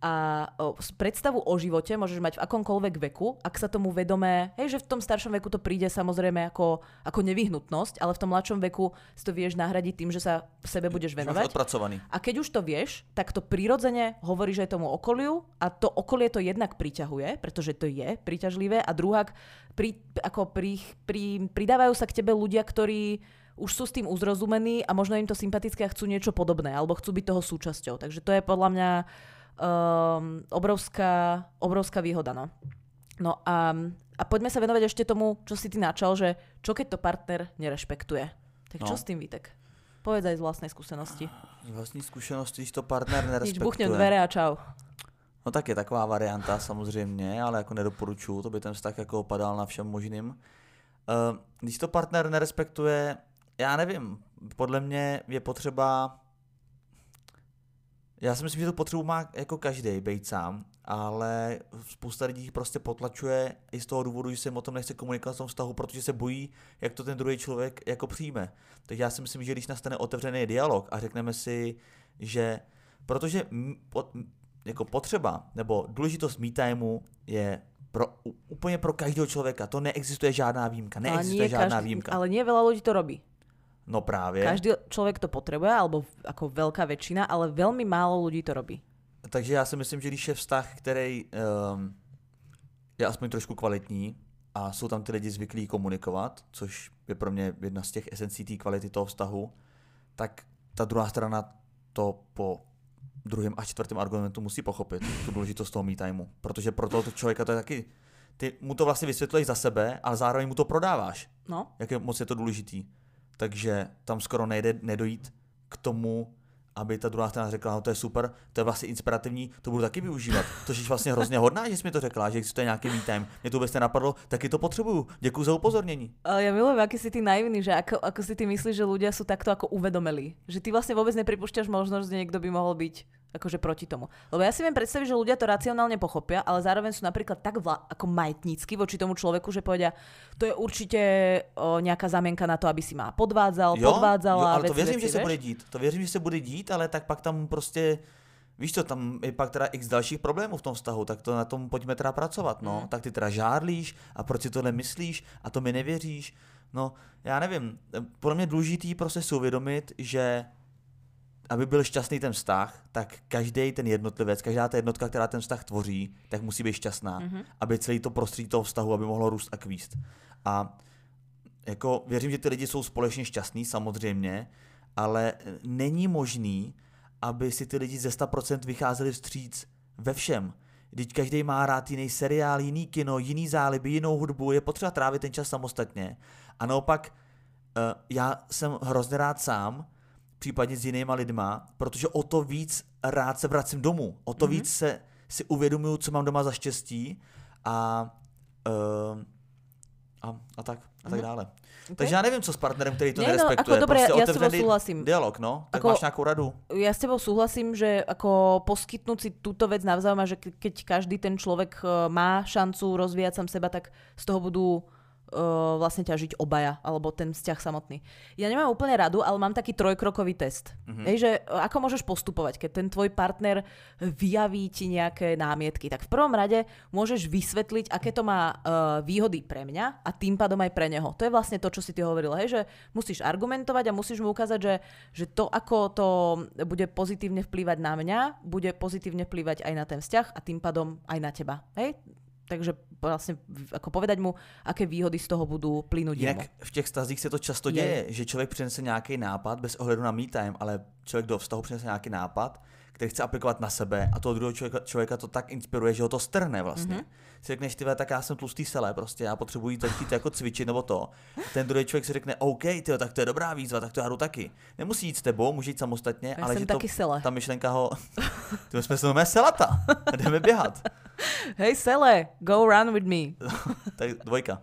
A o, predstavu o živote môžeš mať v akomkoľvek veku, ak sa tomu vedomé, hej, že v tom staršom veku to príde samozrejme ako, ako nevyhnutnosť, ale v tom mladšom veku si to vieš nahradiť tým, že sa sebe budeš venovať. Odpracovaný. A keď už to vieš, tak to prirodzene hovoríš aj tomu okoliu a to okolie to jednak priťahuje, pretože to je príťažlivé a druhák pri, ako pri, pri, pridávajú sa k tebe ľudia, ktorí už sú s tým uzrozumení a možno im to sympatické a chcú niečo podobné alebo chcú byť toho súčasťou. Takže to je podľa mňa Um, obrovská, obrovská výhoda. No, no a, a poďme sa venovať ešte tomu, čo si ty načal, že čo keď to partner nerešpektuje. Tak čo no. s tým, Vítek? Povedz aj z vlastnej skúsenosti. Z vlastní skúsenosti, když to partner nerespektuje. Nič, buchnem dvere a čau. No tak je taková varianta samozřejmě, ale jako nedoporučuju, to by ten vztah jako opadal na všem možným. Uh, když to partner nerespektuje, já nevím, podle mě je potřeba. Já si myslím, že tu potřebu má jako každý být sám, ale spousta lidí prostě potlačuje i z toho důvodu, že se jim o tom nechce komunikovat v tom vztahu, protože se bojí, jak to ten druhý člověk jako přijme. Takže já si myslím, že když nastane otevřený dialog a řekneme si, že protože jako potřeba nebo důležitost me timeu je pro, úplně pro každého člověka, to neexistuje žádná výjimka, neexistuje žádná každý, výjimka. Ale nie veľa ľudí to robí. No právě. Každý člověk to potřebuje, alebo jako velká většina, ale velmi málo lidí to robí. Takže já si myslím, že když je vztah, který um, je aspoň trošku kvalitní a jsou tam ty lidi zvyklí komunikovat, což je pro mě jedna z těch esencí té kvality toho vztahu, tak ta druhá strana to po druhém a čtvrtém argumentu musí pochopit, tu důležitost toho me timeu. Protože pro toho člověka to je taky, ty mu to vlastně vysvětluješ za sebe, ale zároveň mu to prodáváš. No. Jak je moc je to důležitý. Takže tam skoro nejde nedojít k tomu, aby ta druhá strana řekla, no to je super, to je vlastně inspirativní, to budu taky využívat. To je vlastně hrozně hodná, že jsi mi to řekla, že existuje nějaký me time. Mě to vůbec nenapadlo, taky to potřebuju. Děkuji za upozornění. Ale ja milujem, aký si ty naivný, že ako, ako si ty myslíš, že ľudia sú takto ako uvedomelí. Že ty vlastne vôbec nepripúšťaš možnosť, že niekto by mohol byť akože proti tomu. Lebo ja si viem predstaviť, že ľudia to racionálne pochopia, ale zároveň sú napríklad tak vla, ako majetnícky voči tomu človeku, že povedia, to je určite o, nejaká zámienka na to, aby si ma podvádzal, jo, podvádzala. Jo, ale veci, to věřím, veci, že se bude dít. To věřím, že se bude dít, ale tak pak tam prostě, víš co, tam je pak teda x dalších problémů v tom vztahu, tak to na tom pojďme teda pracovat, no. Mm. Tak ty teda žárlíš a proč si tohle myslíš a to mi nevěříš. No, já nevím, podle mě důležitý prostě si uvědomit, že aby byl šťastný ten vztah, tak každý ten jednotlivec, každá ta jednotka, která ten vztah tvoří, tak musí být šťastná, mm-hmm. aby celý to prostředí toho vztahu, aby mohlo růst a kvíst. A jako věřím, že ty lidi jsou společně šťastní, samozřejmě, ale není možný, aby si ty lidi ze sto procent vycházeli vstříc ve všem. Vždyť každý má rád jiný seriál, jiný kino, jiný záliby, jinou hudbu, je potřeba trávit ten čas samostatně. A naopak, já jsem hrozně rád sám, případně s jinýma lidma, protože o to víc rád se vracím domů. O to mm-hmm. víc se, si uvědomuju, co mám doma za štěstí a, uh, a, a tak a tak mm-hmm. dále. Okay. Takže já nevím, co s partnerem, který to Nie, nerespektuje. No, ako, prostě dobre, ja s tebou súhlasím. Dialog, no? Tak ako, máš nějakou radu? Ja s tebou súhlasím, že ako poskytnúť si túto vec navzájom a že keď každý ten človek má šancu rozvíjať sám seba, tak z toho budú Uh, vlastne ťažiť obaja, alebo ten vzťah samotný. Ja nemám úplne radu, ale mám taký trojkrokový test. Mm-hmm. Hej, že ako môžeš postupovať, keď ten tvoj partner vyjaví ti nejaké námietky. Tak v prvom rade môžeš vysvetliť, aké to má uh, výhody pre mňa a tým pádom aj pre neho. To je vlastne to, čo si ty hovoril, hej, že musíš argumentovať a musíš mu ukázať, že, že to, ako to bude pozitívne vplývať na mňa, bude pozitívne vplývať aj na ten vzťah a tým pádom aj na teba. Hej? Takže vlastně jako povedať mu, aké výhody z toho budou plynout jemu. Jinak v těch vztazích se to často děje, je. že člověk přinese nějaký nápad bez ohledu na me time, ale člověk do vztahu přinese nějaký nápad, který chce aplikovat na sebe a toho druhého člověka, člověka to tak inspiruje, že ho to strhne vlastně. Mm-hmm. Si řekneš, tyhle, tak já jsem tlustý sele, prostě já potřebuji začít jako cvičit nebo to. Ten druhý člověk si řekne, OK, tyhle, tak to je dobrá výzva, tak to já jdu taky. Nemusí jít s tebou, může jít samostatně, já ale jsem že taky to, sele. ta myšlenka ho, ty jsme se jmenujeme selata, jdeme běhat. Hej sele, go run with me. Tak dvojka.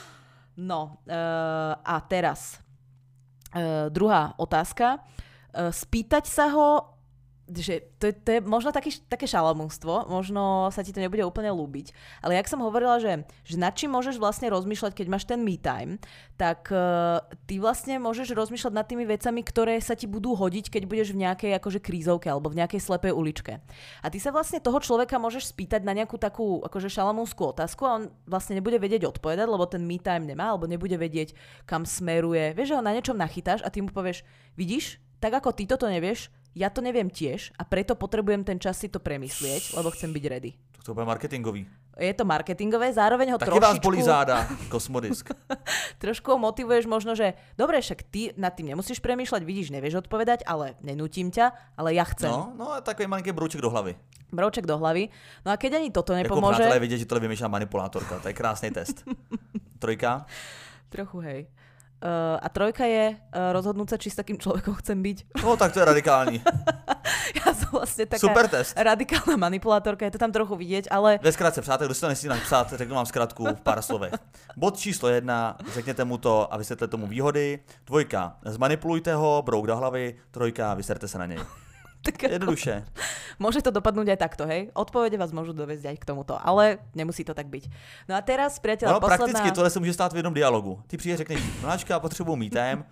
No uh, a teraz uh, druhá otázka. Uh, spýtať sa ho že to je, to je možno taký, také šalamúnstvo, možno sa ti to nebude úplne ľúbiť, ale jak som hovorila, že, že nad čím môžeš vlastne rozmýšľať, keď máš ten me time, tak uh, ty vlastne môžeš rozmýšľať nad tými vecami, ktoré sa ti budú hodiť, keď budeš v nejakej akože krízovke alebo v nejakej slepej uličke. A ty sa vlastne toho človeka môžeš spýtať na nejakú takú akože šalamúnskú otázku a on vlastne nebude vedieť odpovedať, lebo ten me time nemá, alebo nebude vedieť, kam smeruje. Vieš, že ho na niečom nachytáš a ty mu povieš, vidíš, tak ako ty toto nevieš, ja to neviem tiež a preto potrebujem ten čas si to premyslieť, lebo chcem byť ready. To bude marketingový. Je to marketingové, zároveň ho Taky trošičku... vás bolí záda, kosmodisk. Trošku ho motivuješ možno, že dobre, však ty nad tým nemusíš premýšľať, vidíš, nevieš odpovedať, ale nenútim ťa, ale ja chcem. No, no a takový malinký brouček do hlavy. Brouček do hlavy. No a keď ani toto Jako nepomôže... přátelé vidět, že tohle vymýšľa manipulátorka. To je krásný test. Trojka? Trochu, hej. Uh, a trojka je uh, rozhodnúť sa, či s takým človekom chcem byť. No tak to je radikální. Ja som vlastne taká Super test. radikálna manipulátorka, je to tam trochu vidieť, ale... Ve zkratce, přátel, kdo si to nesmí napsat, řeknu vám zkratku v pár slovech. Bod číslo jedna, řekněte mu to a vysvětlete tomu výhody. Dvojka, zmanipulujte ho, brouk do hlavy. Trojka, vyserte se na něj. Jednoduše. Môže to dopadnúť aj takto, hej? Odpovede vás môžu doviesť aj k tomuto, ale nemusí to tak byť. No a teraz, priateľ, no, posledná... prakticky tohle se může stát v jednom dialogu. Ty přijde řekneš, mláčka, potřebuji me time, uh,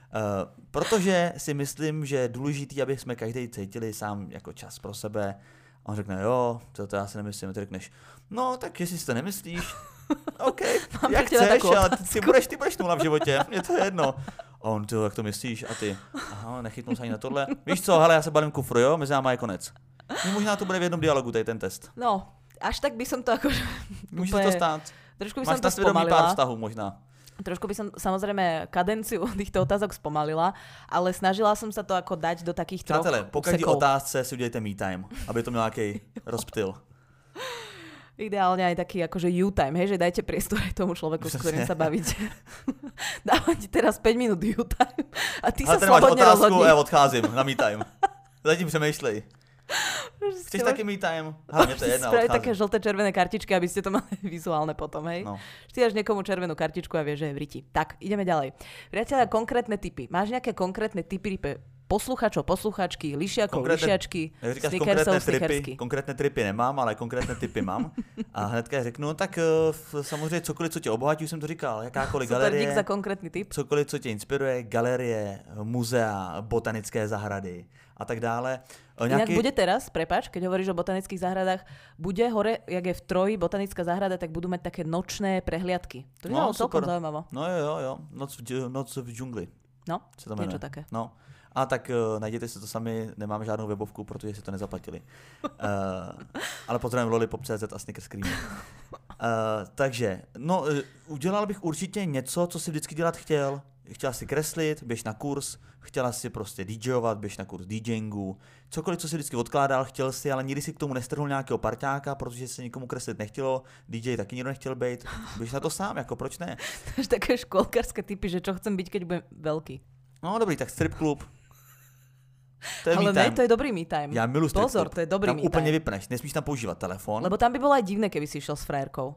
protože si myslím, že je důležitý, aby jsme každý cítili sám jako čas pro sebe. A on řekne, jo, to, to já si nemyslím. A ty řekneš, no, tak jestli si to nemyslíš, OK, jak chceš, ale ty budeš, ty budeš nula v životě, mně to je jedno. A on, ty, jak to myslíš? A ty, aha, nechytnul se ani na tohle. Víš co, hele, já se balím kufru, jo, mezi náma je konec. No, možná to bude v jednom dialogu, tady ten test. No, až tak by som to akože... Může se to stát. Trošku by Máš som to na svědomí spomalila. pár vztahů možná. Trošku by som samozrejme kadenciu týchto otázok spomalila, ale snažila som sa to ako dať do takých troch Přátelé, po každé úsekov. otázce si udělejte me time, aby to měl nějaký rozptyl. Ideálne aj taký akože you time, hej, že dajte priestor aj tomu človeku, s ktorým sa bavíte. Dávam ti teraz päť minút you time a ty ale sa ten máš slobodne otázku rozhodni. a já odcházím na me time. Zatím přemýšlej. Chceš taky me time? Hlavně to je jedna, spraviť odcházím. také žlté červené kartičky, aby ste to mali vizuálne potom, hej? No. Ty dáš niekomu červenú kartičku a vieš, že je v riti. Tak, ideme ďalej. Priatelia, konkrétne tipy. Máš nejaké konkrétne tipy pre posluchačov, posluchačky, lišiakov, lišiačky, Jak říkáš snickersov, konkrétné snickersky. tripy, konkrétné tripy nemám, ale konkrétné tipy mám. A hnedka řeknu, no tak uh, samozřejmě cokoliv, co tě obohatí, už jsem to říkal, jakákoliv Super, galerie, dík za konkrétny tip. cokoliv, co tě inspiruje, galerie, muzea, botanické zahrady a tak dále. O Inak nějaký... bude teraz, prepáč, keď hovoríš o botanických záhradách, bude hore, jak je v Troji botanická záhrada, tak budú mať také nočné prehliadky. To by No, malo celkom super. zaujímavé. No jo, jo, jo, noc v, dž- noc v džungli. No, Se to niečo jmenuje. také. No. A tak uh, najděte si to sami, nemáme žádnou webovku, protože si to nezaplatili. Uh, ale pozdravím lollipop tečka cé zet a Snickers Cream. Uh, takže, no, uh, udělal bych určitě něco, co si vždycky dělat chtěl. Chtěla si kreslit, běž na kurz, chtěla si prostě DJovat, běž na kurz DJingu, cokoliv, co si vždycky odkládal, chtěl si, ale nikdy si k tomu nestrhnul nějakého parťáka, protože se nikomu kreslit nechtělo, dý džej taky nikdo nechtěl být, běž na to sám, jako proč ne? To je také školkárske typy, že čo chcem byť, keď budem veľký. No dobrý, tak strip klub. To je Ale me ne, time. to je dobrý me time. Já miluji strip Pozor, klub. to je dobrý Tam me úplně time. vypneš, nesmíš tam používat telefon. Lebo tam by bolo aj divné, keby si išiel s frajerkou.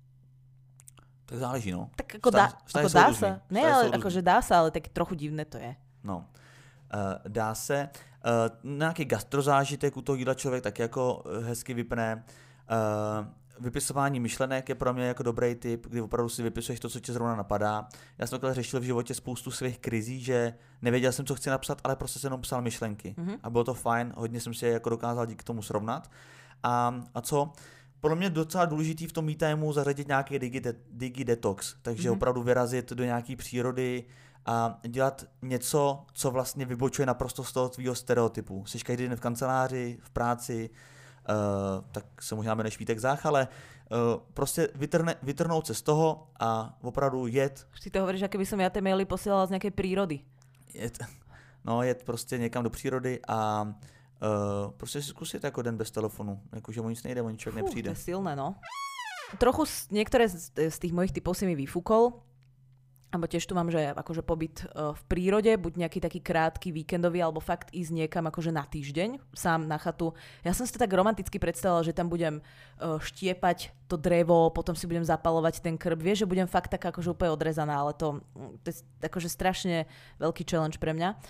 Tak záleží, no. Tak ako, Vztahy- dá, vztahy ako jsou dá různý. sa. Ne, Vztahy ale jsou různý. akože dá sa, ale tak trochu divné to je. No. Uh, dá se. Uh, nějaký gastrozážitek u toho jídla člověk tak jako uh, hezky vypne. Uh, vypisování myšlenek je pro mě jako dobrý tip, kdy opravdu si vypisuješ to, co tě zrovna napadá. Já jsem takhle řešil v životě spoustu svých krizí, že nevěděl jsem, co chci napsat, ale prostě jsem jenom psal myšlenky. Mm-hmm. A bylo to fajn, hodně jsem si je jako dokázal díky tomu srovnat. A, a co? Podle mě docela důležitý v tom me timeu zařadit nějaký digi, de, digi detox, takže mm-hmm. opravdu vyrazit do nějaký přírody a dělat něco, co vlastně vybočuje naprosto z toho tvýho stereotypu. Jsi každý den v kanceláři, v práci, uh, tak se možná jmenuje Švítek Zách, ale uh, prostě vytrne, vytrnout se z toho a opravdu jet. Ty to hovoríš, aké by som ja tie maily posielala z nejakej prírody. jet no, jet prostě někam do přírody a Uh, prostě si zkusit jako den bez telefonu, jakože o nic nejde, o nic člověk Fú, nepřijde. to je silné, no. Trochu z, niektoré z, z tých mojich typov si mi vyfúkol, alebo tiež tu mám, že akože pobyt uh, v prírode, buď nejaký taký krátky víkendový, alebo fakt ísť niekam akože na týždeň, sám na chatu. Ja som si to tak romanticky predstavila, že tam budem uh, štiepať to drevo, potom si budem zapalovať ten krb. Vieš, že budem fakt tak akože úplne odrezaná, ale to, to je akože strašne veľký challenge pre mňa.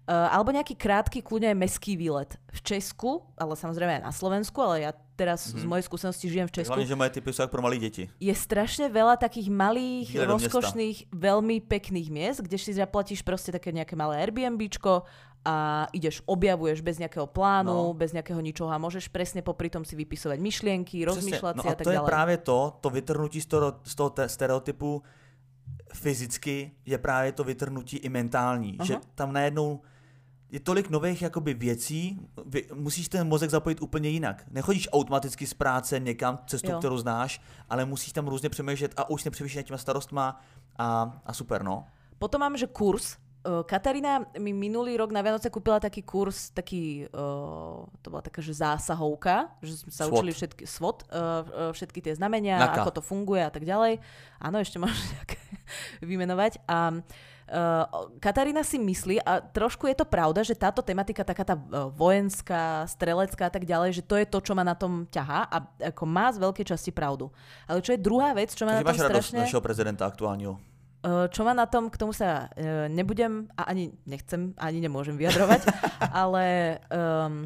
Uh, alebo nejaký krátky, kľudne aj mestský výlet v Česku, ale samozrejme aj na Slovensku, ale ja teraz mm-hmm. z mojej skúsenosti žijem v Česku. Hlavne, že moje typy sú ako pro malé deti. Je strašne veľa takých malých, Výle rozkošných, veľmi pekných miest, kde si zaplatíš proste také nejaké malé Airbnbčko a ideš, objavuješ bez nejakého plánu, no. bez nejakého ničoho a môžeš presne popri tom si vypisovať myšlienky, rozmýšľať si no a tak ďalej. A to je práve to, to vytrhnutí z toho, z toho stereotypu fyzicky je právě to vytrhnutí i mentální, uh-huh. že tam najednou je tolik nových jakoby věcí, vy, musíš ten mozek zapojit úplně jinak. Nechodíš automaticky z práce někam cestu, jo. kterou znáš, ale musíš tam různě přemýšlet a už nepřemýšlíš nad těma starostma a, a super, no. Potom mám, že kurz. Katarína mi minulý rok na Vianoce kúpila taký kurz, taký, uh, to bola taká, že zásahovka, že sme sa SWOT. učili všetky, SWOT, uh, všetky tie znamenia, Naka. ako to funguje a tak ďalej. Áno, ešte môžeš nejaké vymenovať. A uh, Katarína si myslí, a trošku je to pravda, že táto tematika, taká tá uh, vojenská, strelecká a tak ďalej, že to je to, čo ma na tom ťahá a ako má z veľkej časti pravdu. Ale čo je druhá vec, čo ma Takže na tom strašne... Takže máš radosť našeho prezidenta aktuálneho? Čo ma na tom, k tomu sa uh, nebudem a ani nechcem, ani nemôžem vyjadrovať, ale um,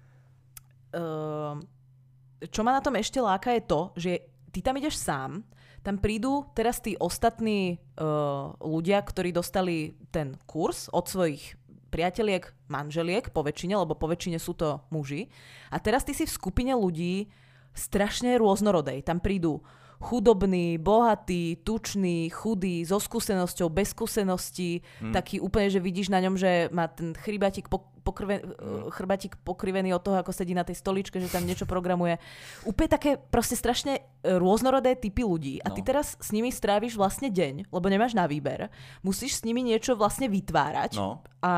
um, čo ma na tom ešte láka je to, že ty tam ideš sám, tam prídu teraz tí ostatní uh, ľudia, ktorí dostali ten kurz od svojich priateliek, manželiek po väčšine, lebo po väčšine sú to muži. A teraz ty si v skupine ľudí strašne rôznorodej. Tam prídu chudobný, bohatý, tučný, chudý, so skúsenosťou, bez skúseností, hmm. taký úplne, že vidíš na ňom, že má ten chrybatík, pokrven, hmm. chrybatík pokrivený od toho, ako sedí na tej stoličke, že tam niečo programuje. Úplne také proste strašne rôznorodé typy ľudí. A ty no. teraz s nimi stráviš vlastne deň, lebo nemáš na výber. Musíš s nimi niečo vlastne vytvárať. No. A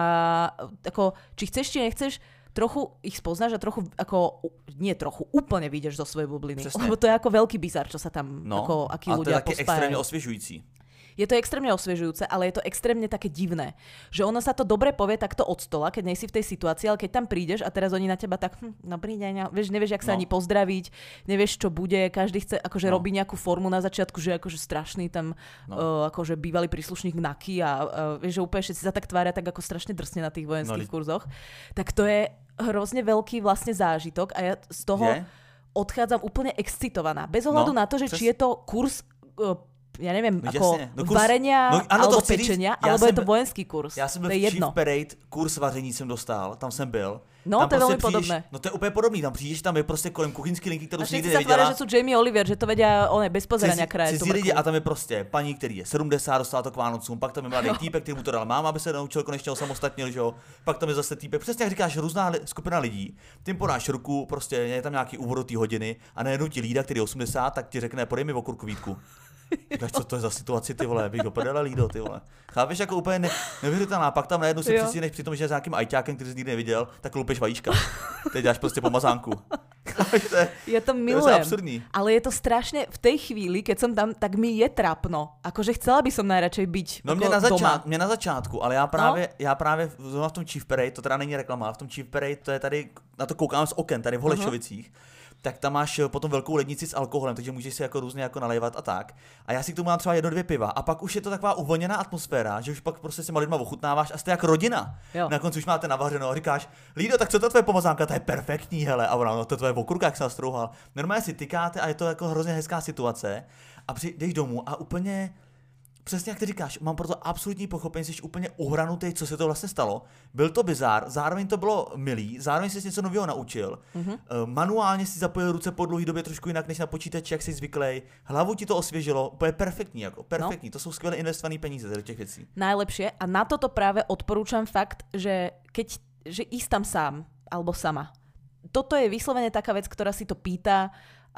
ako, či chceš, či nechceš, trochu ich spoznáš a trochu, ako, nie trochu, úplne vyjdeš zo svojej bubliny. Přesně. Lebo to je ako veľký bizar, čo sa tam, no, ako, akí ľudia pospájajú. A to je také extrémne osviežujúci. Je to extrémne osviežujúce, ale je to extrémne také divné. Že ono sa to dobre povie takto od stola, keď nejsi v tej situácii, ale keď tam prídeš a teraz oni na teba tak, hm, dobrý deň, vieš, nevieš, jak sa no. ani pozdraviť, nevieš, čo bude, každý chce, akože no. robí nejakú formu na začiatku, že akože strašný tam, no. uh, akože bývalý príslušník NAKY a uh, vieš, že úplne všetci sa tak tvária tak ako strašne drsne na tých vojenských no. kurzoch. Tak to je hrozne veľký vlastne zážitok a ja z toho je? odchádzam úplne excitovaná. Bez ohľadu no, na to, že přes... či je to kurz uh, ja neviem, no, ako no, kurz, varenia, no, ano, alebo pečenia, alebo jsem, je to vojenský kurz. Já jsem byl v Chief Parade, kurz vaření jsem dostal, tam jsem byl. No, tam to je prostě veľmi podobné. No to je úplně podobný, tam přijdeš, tam je prostě kolem kuchyňský linky, kterou si nikdy neviděla. A všetci sa tvária, že sú Jamie Oliver, že to vedia, on je bez pozerania kraje. Cizí lidi a tam je prostě paní, který je sedmdesát, dostala to k Vánocům, pak tam je mladý týpek, který mu to dal máma, aby se naučil konečně osamostatnil, že jo. Pak tam je zase týpek, přesně jak říkáš, různá li- skupina lidí. Ty podáš ruku, prostě je tam nějaký úvod té hodiny a najednou ti lída, který je osmdesát, tak ti řekne, podej mi okurku Vítku. Říkáš, co to je za situaci, ty vole, bych ho podala lído, ty vole. Chápeš, jako úplně ne, nevěřitelná, pak tam najednou si přistíneš při tom, že s nějakým ajťákem, který jsi nikdy neviděl, tak lupeš vajíčka. Teď dáš prostě pomazánku. to je, ja to milujem, to je absurdní. Ale je to strašne, v tej chvíli, keď som tam, tak mi je trápno. Akože chcela by som najradšej byť no mě na, začát, mě na začátku, ale já právě, no? já právě v tom Chief Parade, to teda není reklama, ale v tom Chief Parade, to je tady, na to koukám z oken, tady v Holešovicích. Uh-huh. Tak tam máš potom velkou lednici s alkoholem, takže můžeš si jako různě jako nalévat a tak. A já si k tomu mám třeba jedno, dvě piva. A pak už je to taková uvolněná atmosféra, že už pak prostě s těma lidma ochutnáváš a jste jak rodina. Jo. Na konci už máte navařeno a říkáš, Lído, tak co to tvoje pomazánka, to je perfektní, hele. A ona, no to tvoje okurka, jak se nastrouhal. Normálně si tykáte a je to jako hrozně hezká situace. A přijdeš domů a úplně přesně jak ty říkáš, mám proto absolutní pochopení, jsi úplně uhranutý, co se to vlastně stalo. Byl to bizár, zároveň to bylo milý, zároveň jsi něco nového naučil. Mm-hmm. Manuálně si zapojil ruce po dlouhé době trošku jinak než na počítači, jak jsi zvyklý. Hlavu ti to osvěžilo, úplně perfektní, jako perfektní. No. To jsou skvěle investované peníze do těch věcí. Najlepšie a na toto práve odporúčam fakt, že keď že ísť tam sám alebo sama. Toto je vyslovene taká vec, ktorá si to pýta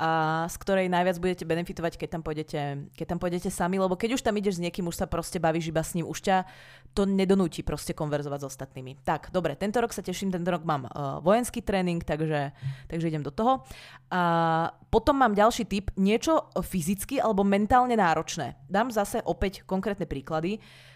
a z ktorej najviac budete benefitovať, keď tam pôjdete, keď tam pôjdete sami, lebo keď už tam ideš s niekým, už sa proste bavíš iba s ním, už ťa to nedonúti proste konverzovať s ostatnými. Tak, dobre, tento rok sa teším, tento rok mám uh, vojenský tréning, takže, takže idem do toho. A potom mám ďalší tip, niečo fyzicky alebo mentálne náročné. Dám zase opäť konkrétne príklady.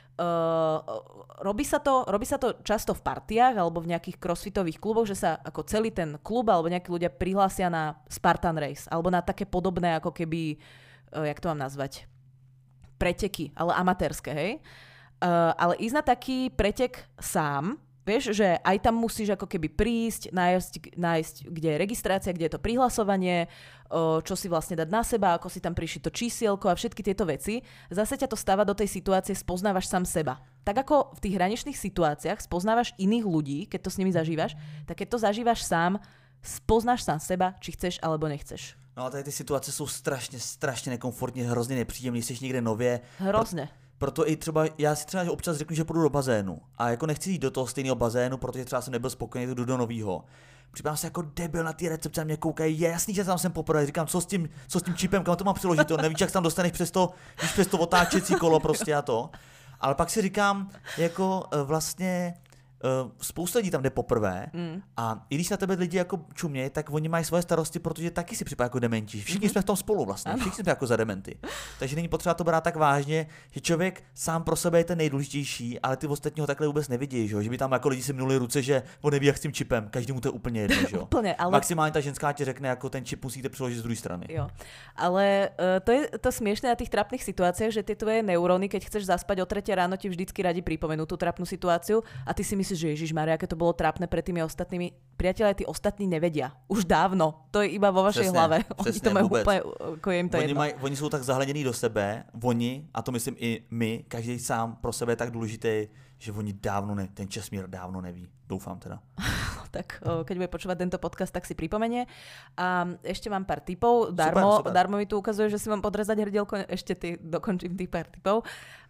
Uh, robí, sa to, robí sa to často v partiách alebo v nejakých crossfitových kluboch, že sa ako celý ten klub alebo nejakí ľudia prihlásia na Spartan Race alebo na také podobné ako keby, uh, jak to mám nazvať, preteky, ale amatérske, hej? Uh, ale ísť na taký pretek sám Vieš, že aj tam musíš ako keby prísť, nájsť, nájsť, kde je registrácia, kde je to prihlasovanie, čo si vlastne dať na seba, ako si tam prišiť to čísielko a všetky tieto veci. Zase ťa to stáva do tej situácie, spoznávaš sám seba. Tak ako v tých hraničných situáciách spoznávaš iných ľudí, keď to s nimi zažívaš, tak keď to zažívaš sám, spoznáš sám seba, či chceš alebo nechceš. No a tady ty situace jsou strašně, strašně nekomfortní, hrozně nepříjemný, jsi někde nově. Hrozně. Proto i třeba, já si třeba občas řeknu, že půjdu do bazénu a jako nechci jít do toho stejného bazénu, protože třeba jsem nebyl spokojený, jdu do novýho. Připadám se jako debil na ty recepce a mě koukají, je jasný, že tam jsem poprvé, říkám, co s tím, co s tím čipem, kam to mám přiložit, to nevíš, jak tam dostaneš přes to, víš, přes to otáčecí kolo prostě a to. Ale pak si říkám, jako vlastně Uh, spousta lidí tam jde poprvé mm. a i když na tebe lidi jako čumějí, tak oni mají svoje starosti, protože taky si připadá jako dementi. Všichni mm-hmm. jsme v tom spolu vlastně, ano. Všichni jsme jako za dementy. Takže není potřeba to brát tak vážně, že člověk sám pro sebe je ten nejdůležitější, ale ty ostatní ho takhle vůbec nevidí, že, že by tam jako lidi si minuli ruce, že on neví, jak s tím čipem, každému to je úplně jedno, že? Úplně, ale... Maximálně ta ženská ti řekne, jako ten čip musíte přiložit z druhé strany. Jo. Ale uh, to je to smiešné na tých trapných situáciách, že tie tvoje neuróny, keď chceš zaspať o tretie ráno, ti vždycky radi pripomenú tú trapnú situáciu a ty si myslíš, že Ježišmária, aké to bolo trápne pred tými ostatnými. Priatelia, tí ostatní nevedia. Už dávno. To je iba vo vašej přesně, hlave. Přesně, oni to majú vůbec. úplne, ako je im to oni, jedno. Maj, oni jsou tak zahledění do sebe, oni, a to myslím i my, každý sám pro sebe je tak důležitý, že oni dávno ne, ten Česmír dávno neví. Doufám teda. Tak keď bude počúvať tento podcast, tak si pripomenie. A ešte mám pár tipov. Darmo, super, super. Darmo mi tu ukazuje, že si mám podrezať hrdielko. Ešte ty, dokončím tých pár tipov.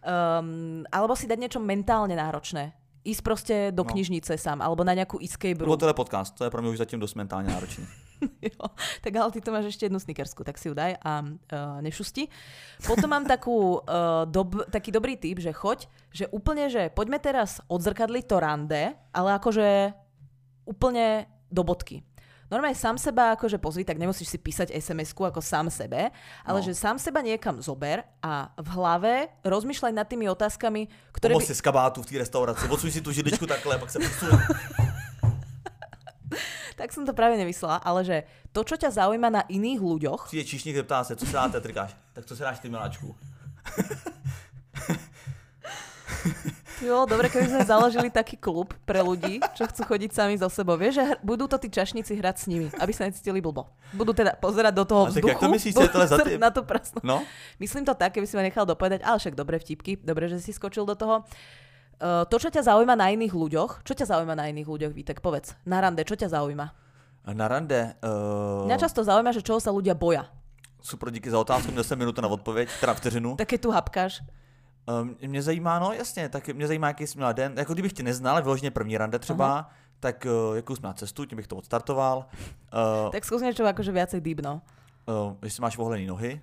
Um, alebo si dať niečo mentálne náročné. Ísť proste do no. knižnice sám, alebo na nejakú escape room. Nebo teda podcast, to je pro mě už zatím dosť mentálne náročné. Jo, tak ale ty to máš ešte jednu snickersku, tak si ju daj a uh, nešusti. Potom mám takú, uh, dob, taký dobrý tip, že choď, že úplne, že poďme teraz odzrkadliť to rande, ale akože úplne do bodky. Normálne sám seba akože pozri, tak nemusíš si písať es em esku ako sám sebe, ale no. že sám seba niekam zober a v hlave rozmýšľaj nad tými otázkami, ktoré... Pomoz by... si z kabátu v té restauraci, odsuň si tu židličku takhle, pak sa posuň. Tak som to práve nemyslela, ale že to, čo ťa zaujíma na iných ľuďoch... Přijde číšník, zeptá se, co se dáte, trikáš? Tak co se dáš ty, miláčku? Jo, dobre, keby sme založili taký klub pre ľudí, čo chcú chodiť sami zo sebou. Vieš, že hr- budú to tí čašníci hrať s nimi, aby sa necítili blbo. Budú teda pozerať do toho vzduchu. A tak jak to myslíš, je to za tým? Na tú prasnú. No? Myslím to tak, keby si ma nechal dopovedať, ale však dobre vtipky, dobre, že si skočil do toho. Uh, to, čo ťa zaujíma na iných ľuďoch, čo ťa zaujíma na iných ľuďoch, Vítek, povedz. Na rande, čo ťa zaujíma? Na rande? Uh... Mňa často zaujíma, že čoho sa ľudia boja. Super, díky za otázku, měl jsem minutu na odpověď, teda vteřinu. Tak keď tu hapkáš. Um, mě zajímá, no jasně, tak mě zajímá, jaký jsi měla den. Jako kdybych tě neznal, vyloženě první rande třeba, uh-huh. tak uh, jakou jsi měla cestu, tím bych to odstartoval. Uh, tak skús niečo akože viacej deep, no. Uh, jestli máš vohlený nohy.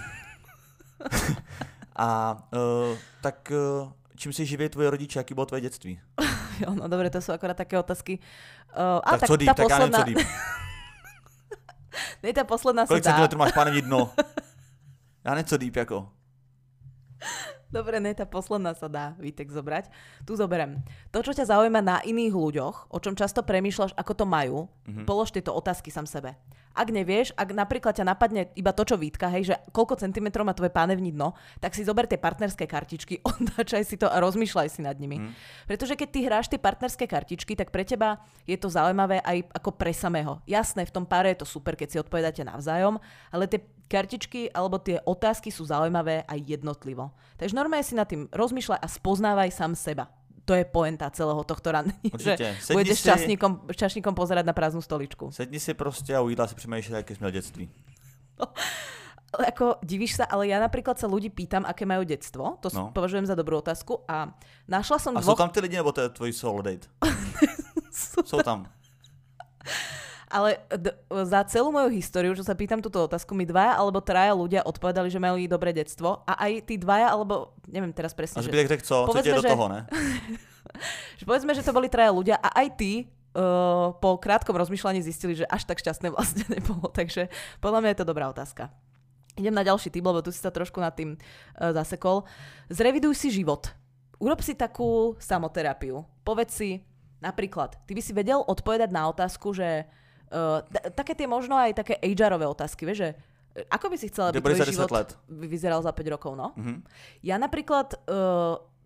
A uh, tak uh, čím si živí tvoje rodiče, jaký bylo tvoje dětství? Jo, no dobre, to sú akorát také otázky. Uh, tak, tak co deep, tak posledná... já nevím, co deep. Nej, tá posledná Kolik sa dá. Kolik centimetrů máš, páne, dno? Já nevím, co deep, jako. Dobre, ne, tá posledná sa dá, Vítek, zobrať. Tu zoberiem. To, čo ťa zaujíma na iných ľuďoch, o čom často premýšľaš, ako to majú, mm-hmm. polož tieto otázky sám sebe. Ak nevieš, ak napríklad ťa napadne iba to, čo Vítka, hej, že koľko centimetrov má tvoje pánevní dno, tak si zober tie partnerské kartičky, otáčaj si to a rozmýšľaj si nad nimi. Mm. Pretože keď ty hráš tie partnerské kartičky, tak pre teba je to zaujímavé aj ako pre samého. Jasné, v tom páre je to super, keď si odpovedáte navzájom, ale tie kartičky alebo tie otázky sú zaujímavé aj jednotlivo. Takže normálne si nad tým rozmýšľaj a spoznávaj sám seba. To je poenta celého tohto randenia, že budeš si... čašníkom, čašníkom pozerať na prázdnu stoličku. Sedni si proste a u jídla si přemýšľaj, aké sme detství. No, ako divíš sa, ale ja napríklad sa ľudí pýtam, aké majú detstvo. To no. považujem za dobrú otázku a našla som a dvoch... A sú tam tí lidi, nebo to je tvoj solo date? sú, sú tam. Ale d- za celú moju históriu, čo sa pýtam túto otázku, mi dvaja alebo traja ľudia odpovedali, že mali dobré detstvo a aj tí dvaja, alebo neviem teraz presne. A zbytek řekl co? Co ti je do toho, ne? že povedzme, že to boli traja ľudia a aj tí uh, po krátkom rozmýšľaní zistili, že až tak šťastné vlastne nebolo. Takže podľa mňa je to dobrá otázka. Idem na ďalší typ, lebo tu si sa trošku nad tým uh, zasekol. Zreviduj si život. Urob si takú samoterapiu. Povedz si, napríklad, ty by si vedel odpovedať na otázku, že Uh, t- také tie možno aj také há erové otázky, vieš, že ako by si chcela, aby tvoj život let? vyzeral za päť rokov, no? Mm-hmm. Ja napríklad uh,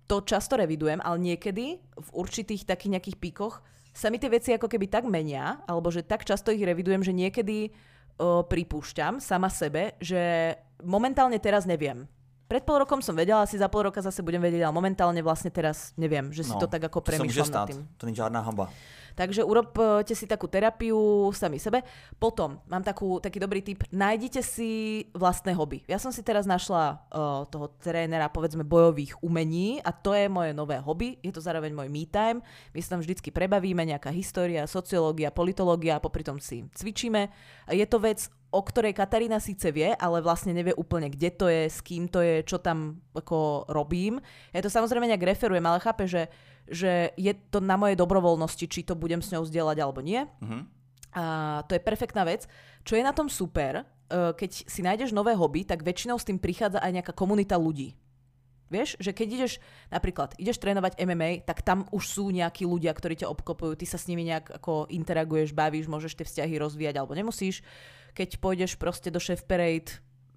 to často revidujem, ale niekedy v určitých takých nejakých píkoch sa mi tie veci ako keby tak menia, alebo že tak často ich revidujem, že niekedy o, pripúšťam sama sebe, že momentálne teraz neviem. Pred pol rokom som vedela, asi za pol roka zase budem vedieť, ale momentálne vlastne teraz neviem, že si no, to tak ako premýšľam nad tým. To nie je žiadna hamba. Takže urobte si takú terapiu sami sebe. Potom mám takú, taký dobrý tip. Nájdite si vlastné hobby. Ja som si teraz našla uh, toho trénera, povedzme, bojových umení a to je moje nové hobby. Je to zároveň môj me time. My sa tam vždycky prebavíme, nejaká história, sociológia, politológia a popri tom si cvičíme. Je to vec, o ktorej Katarína síce vie, ale vlastne nevie úplne, kde to je, s kým to je, čo tam ako robím. Ja to samozrejme nejak referujem, ale chápe, že, že je to na mojej dobrovoľnosti, či to budem s ňou zdieľať alebo nie. Uh-huh. A to je perfektná vec. Čo je na tom super, keď si nájdeš nové hobby, tak väčšinou s tým prichádza aj nejaká komunita ľudí. Vieš, že keď ideš, napríklad, ideš trénovať em em á, tak tam už sú nejakí ľudia, ktorí ťa obklopujú, ty sa s nimi nejak ako interaguješ, bavíš, môžeš tie vzťahy rozvíjať alebo nemusíš. Keď pôjdeš proste do Chef Parade,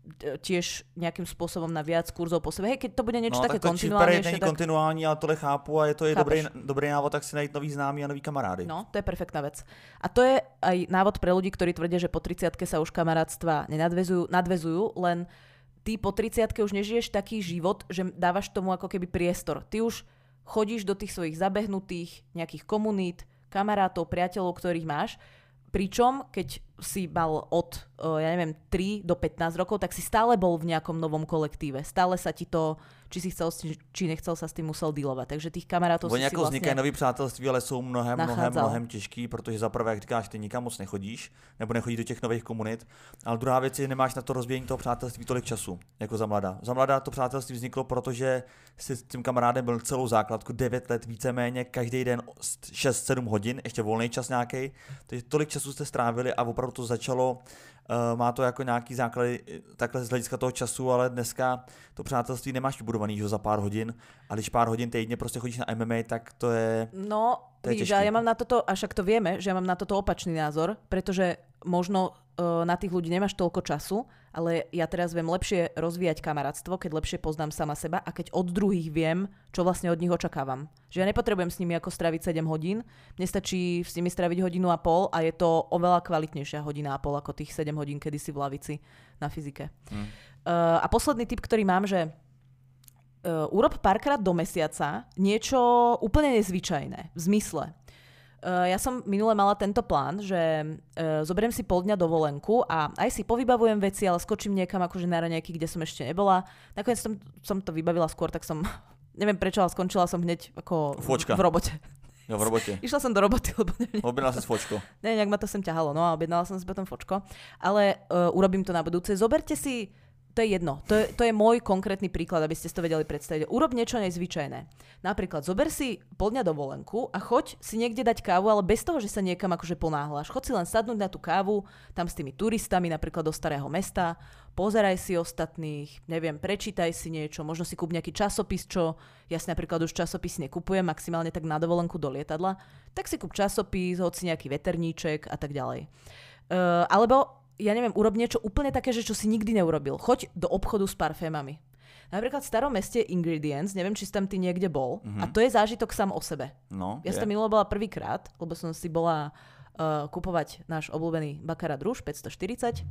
tiež nejakým spôsobom na viac kurzov po sebe. Hej, keď to bude niečo no, také tak kontinuálnejšie. No, není tak... kontinuální, ale tohle chápu a je to je dobrý, dobrý návod, tak si najít nový známy a nový kamarády. No, to je perfektná vec. A to je aj návod pre ľudí, ktorí tvrdia, že po tridsiatke sa už kamarátstva nenadvezujú, nadvezujú, len ty po tridsiatke už nežiješ taký život, že dávaš tomu ako keby priestor. Ty už chodíš do tých svojich zabehnutých nejakých komunít, kamarátov, priateľov, ktorých máš. Pričom, keď si mal od, ja neviem, tri do pätnásť rokov, tak si stále bol v nejakom novom kolektíve. Stále sa ti to, či si chcel, či nechcel, sa s tým musel dealovať. Takže tých kamarátov si si jako vlastne vznikají nový přátelství, ale jsou mnohem, nachádzal. mnohem, mnohem těžký, protože za prvé, jak říkáš, ty nikam moc nechodíš, nebo nechodíš do těch nových komunit, ale druhá věc je, nemáš na to rozvíjení toho přátelství tolik času, jako za mladá. Za mladá to přátelství vzniklo, protože si s tím kamarádem byl celou základku devět let víceméně, každý den šest sedm hodin, ještě volný čas nějaký, takže tolik času jste strávili a opravdu to začalo. Uh, má to jako nějaký základy takhle z hlediska toho času, ale dneska to přátelství nemáš vybudovaný za pár hodin a když pár hodin týdně prostě chodíš na em em á, tak to je No, to je vidíš, těžký. a ja mám na toto, a však to vieme, že ja mám na toto opačný názor, pretože možno uh, na tých ľudí nemáš toľko času, ale ja teraz viem lepšie rozvíjať kamarátstvo, keď lepšie poznám sama seba a keď od druhých viem, čo vlastne od nich očakávam. Že ja nepotrebujem s nimi ako straviť sedem hodín, mne stačí s nimi straviť hodinu a pol a je to oveľa kvalitnejšia hodina a pol ako tých sedem hodín kedysi v lavici na fyzike. Hmm. Uh, a posledný tip, ktorý mám, že uh, urob párkrát do mesiaca niečo úplne nezvyčajné v zmysle. Uh, ja som minule mala tento plán, že uh, zoberiem si pol dňa dovolenku a aj si povybavujem veci, ale skočím niekam akože na raňajky, kde som ešte nebola. Nakoniec som, som to vybavila skôr, tak som, neviem prečo, ale skončila som hneď ako Fočka. v robote. Jo, v robote. Išla som do roboty, lebo neviem. Objednala si fočko. Ne, nejak ma to sem ťahalo, no a objednala som si potom fočko. Ale uh, urobím to na budúce. Zoberte si, to je jedno, to je, to je môj konkrétny príklad, aby ste si to vedeli predstaviť. Urob niečo nezvyčajné. Napríklad, zober si pol dňa dovolenku a choď si niekde dať kávu, ale bez toho, že sa niekam akože ponáhľaš. Choď si len sadnúť na tú kávu, tam s tými turistami, napríklad do starého mesta, pozeraj si ostatných, neviem, prečítaj si niečo, možno si kúp nejaký časopis, čo ja si napríklad už časopis nekupujem, maximálne tak na dovolenku do lietadla, tak si kúp časopis, hoci nejaký veterníček a tak ďalej. Uh, alebo ja neviem, urob niečo úplne také, že čo si nikdy neurobil. Choď do obchodu s parfémami. Napríklad v starom meste Ingredients, neviem, či si tam ty niekde bol, mm-hmm. a to je zážitok sám o sebe. No, ja som minule bola prvýkrát, lebo som si bola uh, kupovať náš obľúbený Baccarat Rouge päťstoštyridsať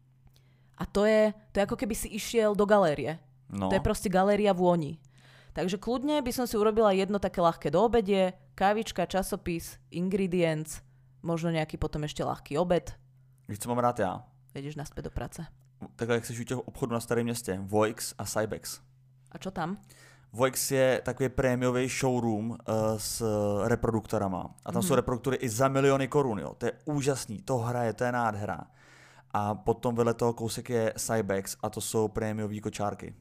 a to je, to je ako keby si išiel do galérie. No. To je proste galéria vôni. Takže kľudne by som si urobila jedno také ľahké do obedie, kávička, časopis, Ingredients, možno nejaký potom ešte ľahký obed. Víš, co mám rád já? Jedeš naspäť do práce. Takhle, jak jsi u těch obchodů na Starém městě. Voix a Cybex. A čo tam? Voix je takový prémiový showroom uh, s reproduktorama. A tam mm-hmm. jsou reproduktory i za miliony korun. Jo. To je úžasný, to hraje, to je nádhera. A potom vedle toho kousek je Cybex a to jsou prémiový kočárky.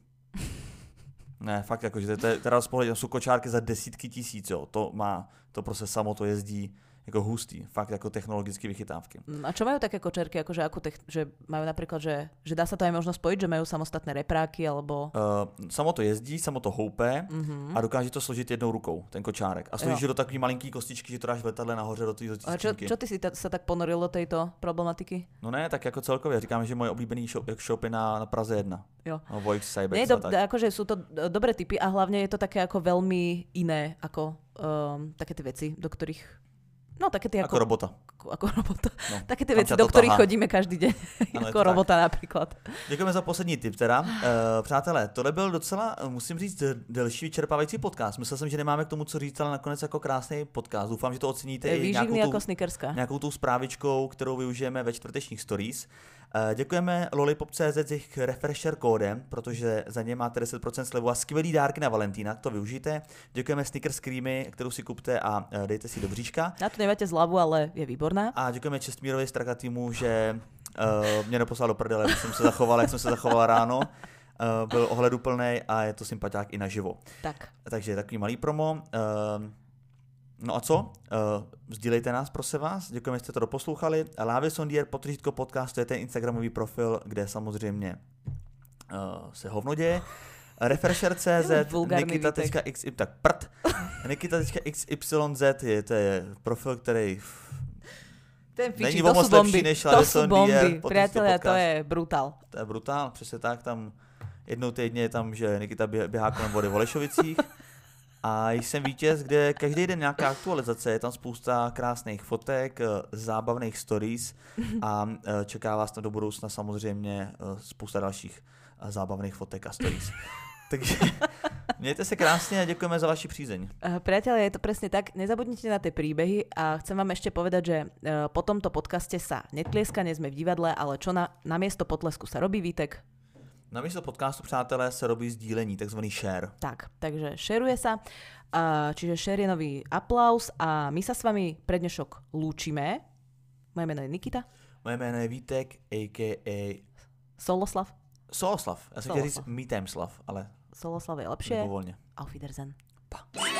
Ne, fakt jakože, to je teda z pohledu, jsou kočárky za desítky tisíc, jo. To má, to prostě samo to jezdí jako hustý, fakt jako technologické vychytávky. A čo majú také kočerky, akože akú tech, že majú napríklad, že, že dá sa to aj možno spojiť, že majú samostatné repráky, alebo... Uh, samo to jezdí, samo to houpe mm-hmm. a dokáže to složit jednou rukou, ten kočárek. A složíš do takový malinký kostičky, že to dáš v letadle nahoře do té skřínky. A čo, čo ty si ta, sa tak ponoril do tejto problematiky? No ne, tak jako celkově. Říkám, že moje oblíbený shop, shop je na, na Praze jedna. Jo. No, Voix, Cybex Nie, do, a tak. akože sú to dobré tipy a hlavne je to také ako veľmi iné, ako um, také tie veci, do ktorých... No, také tie ako... Ako robota. Ako, ako robota. No, také tie veci, do ktorých tahá. Chodíme každý deň. Ano, ako robota tak. Napríklad. Děkujeme za poslední tip teda. Uh, přátelé, tohle byl docela, musím říct, delší vyčerpávající podcast. Myslel jsem, že nemáme k tomu co říct, ale nakonec jako krásný podcast. Doufám, že to oceníte je i nějakou, jako tu, nějakou tu zprávičkou, kterou využijeme ve čtvrtečních stories. Uh, děkujeme lollipop tečka cé zet s jejich refresher kódem, protože za ně máte deset procent slevu a skvělý dárky na Valentína, to využijte. Děkujeme Snickers Creamy, kterou si kupte a uh, dejte si do bříška. Na to nemáte zľavu, ale je výborná. A děkujeme Čestmírovi Strakatýmu, že uh, mě neposlal do prdele, když jsem se zachoval, jak jsem se zachoval ráno. Uh, byl ohleduplnej a je to sympatiák i naživo. Tak. Takže takový malý promo. Uh, No a co? Uh, sdílejte nás, prosím vás. Děkujeme, že jste to doposlouchali. Lávě Sondier, potržítko podcast, to je ten instagramový profil, kde samozřejmě uh, se hovno děje. Refresher tečka cé zet, Nikita tečka x y, tak prd. Nikita tečka x y z je, to je profil, který ten fiči, není to moc lepší než Lávě Sondier. Priatelia, to je brutál. To je brutál, přesně tak. Tam jednou týdně je tam, že Nikita běhá kolem vody v Holešovicích. A jsem vítěz, kde každý den nějaká aktualizace, je tam spousta krásných fotek, zábavných stories a čeká vás tam do budoucna samozřejmě spousta dalších zábavných fotek a stories. Takže mějte se krásně a děkujeme za vaši přízeň. Priatelia, je to presne tak. Nezabudnite na tie príbehy a chcem vám ešte povedať, že po tomto podcaste sa netlieska, nie sme v divadle, ale čo na, na miesto potlesku sa robí, Vítek? Na místo podcastu, přátelé, se robí sdílení, takzvaný share. Tak, takže shareuje sa. Uh, čiže share je nový aplaus a my sa s vami pre dnešok lúčime. Moje meno je Nikita. Moje jméno je Vítek, a ká a. Soloslav. Soloslav. Já jsem chtěl říct Mítemslav, ale... Soloslav je lepšie. Libovolně. Auf Wiedersehen. Pa.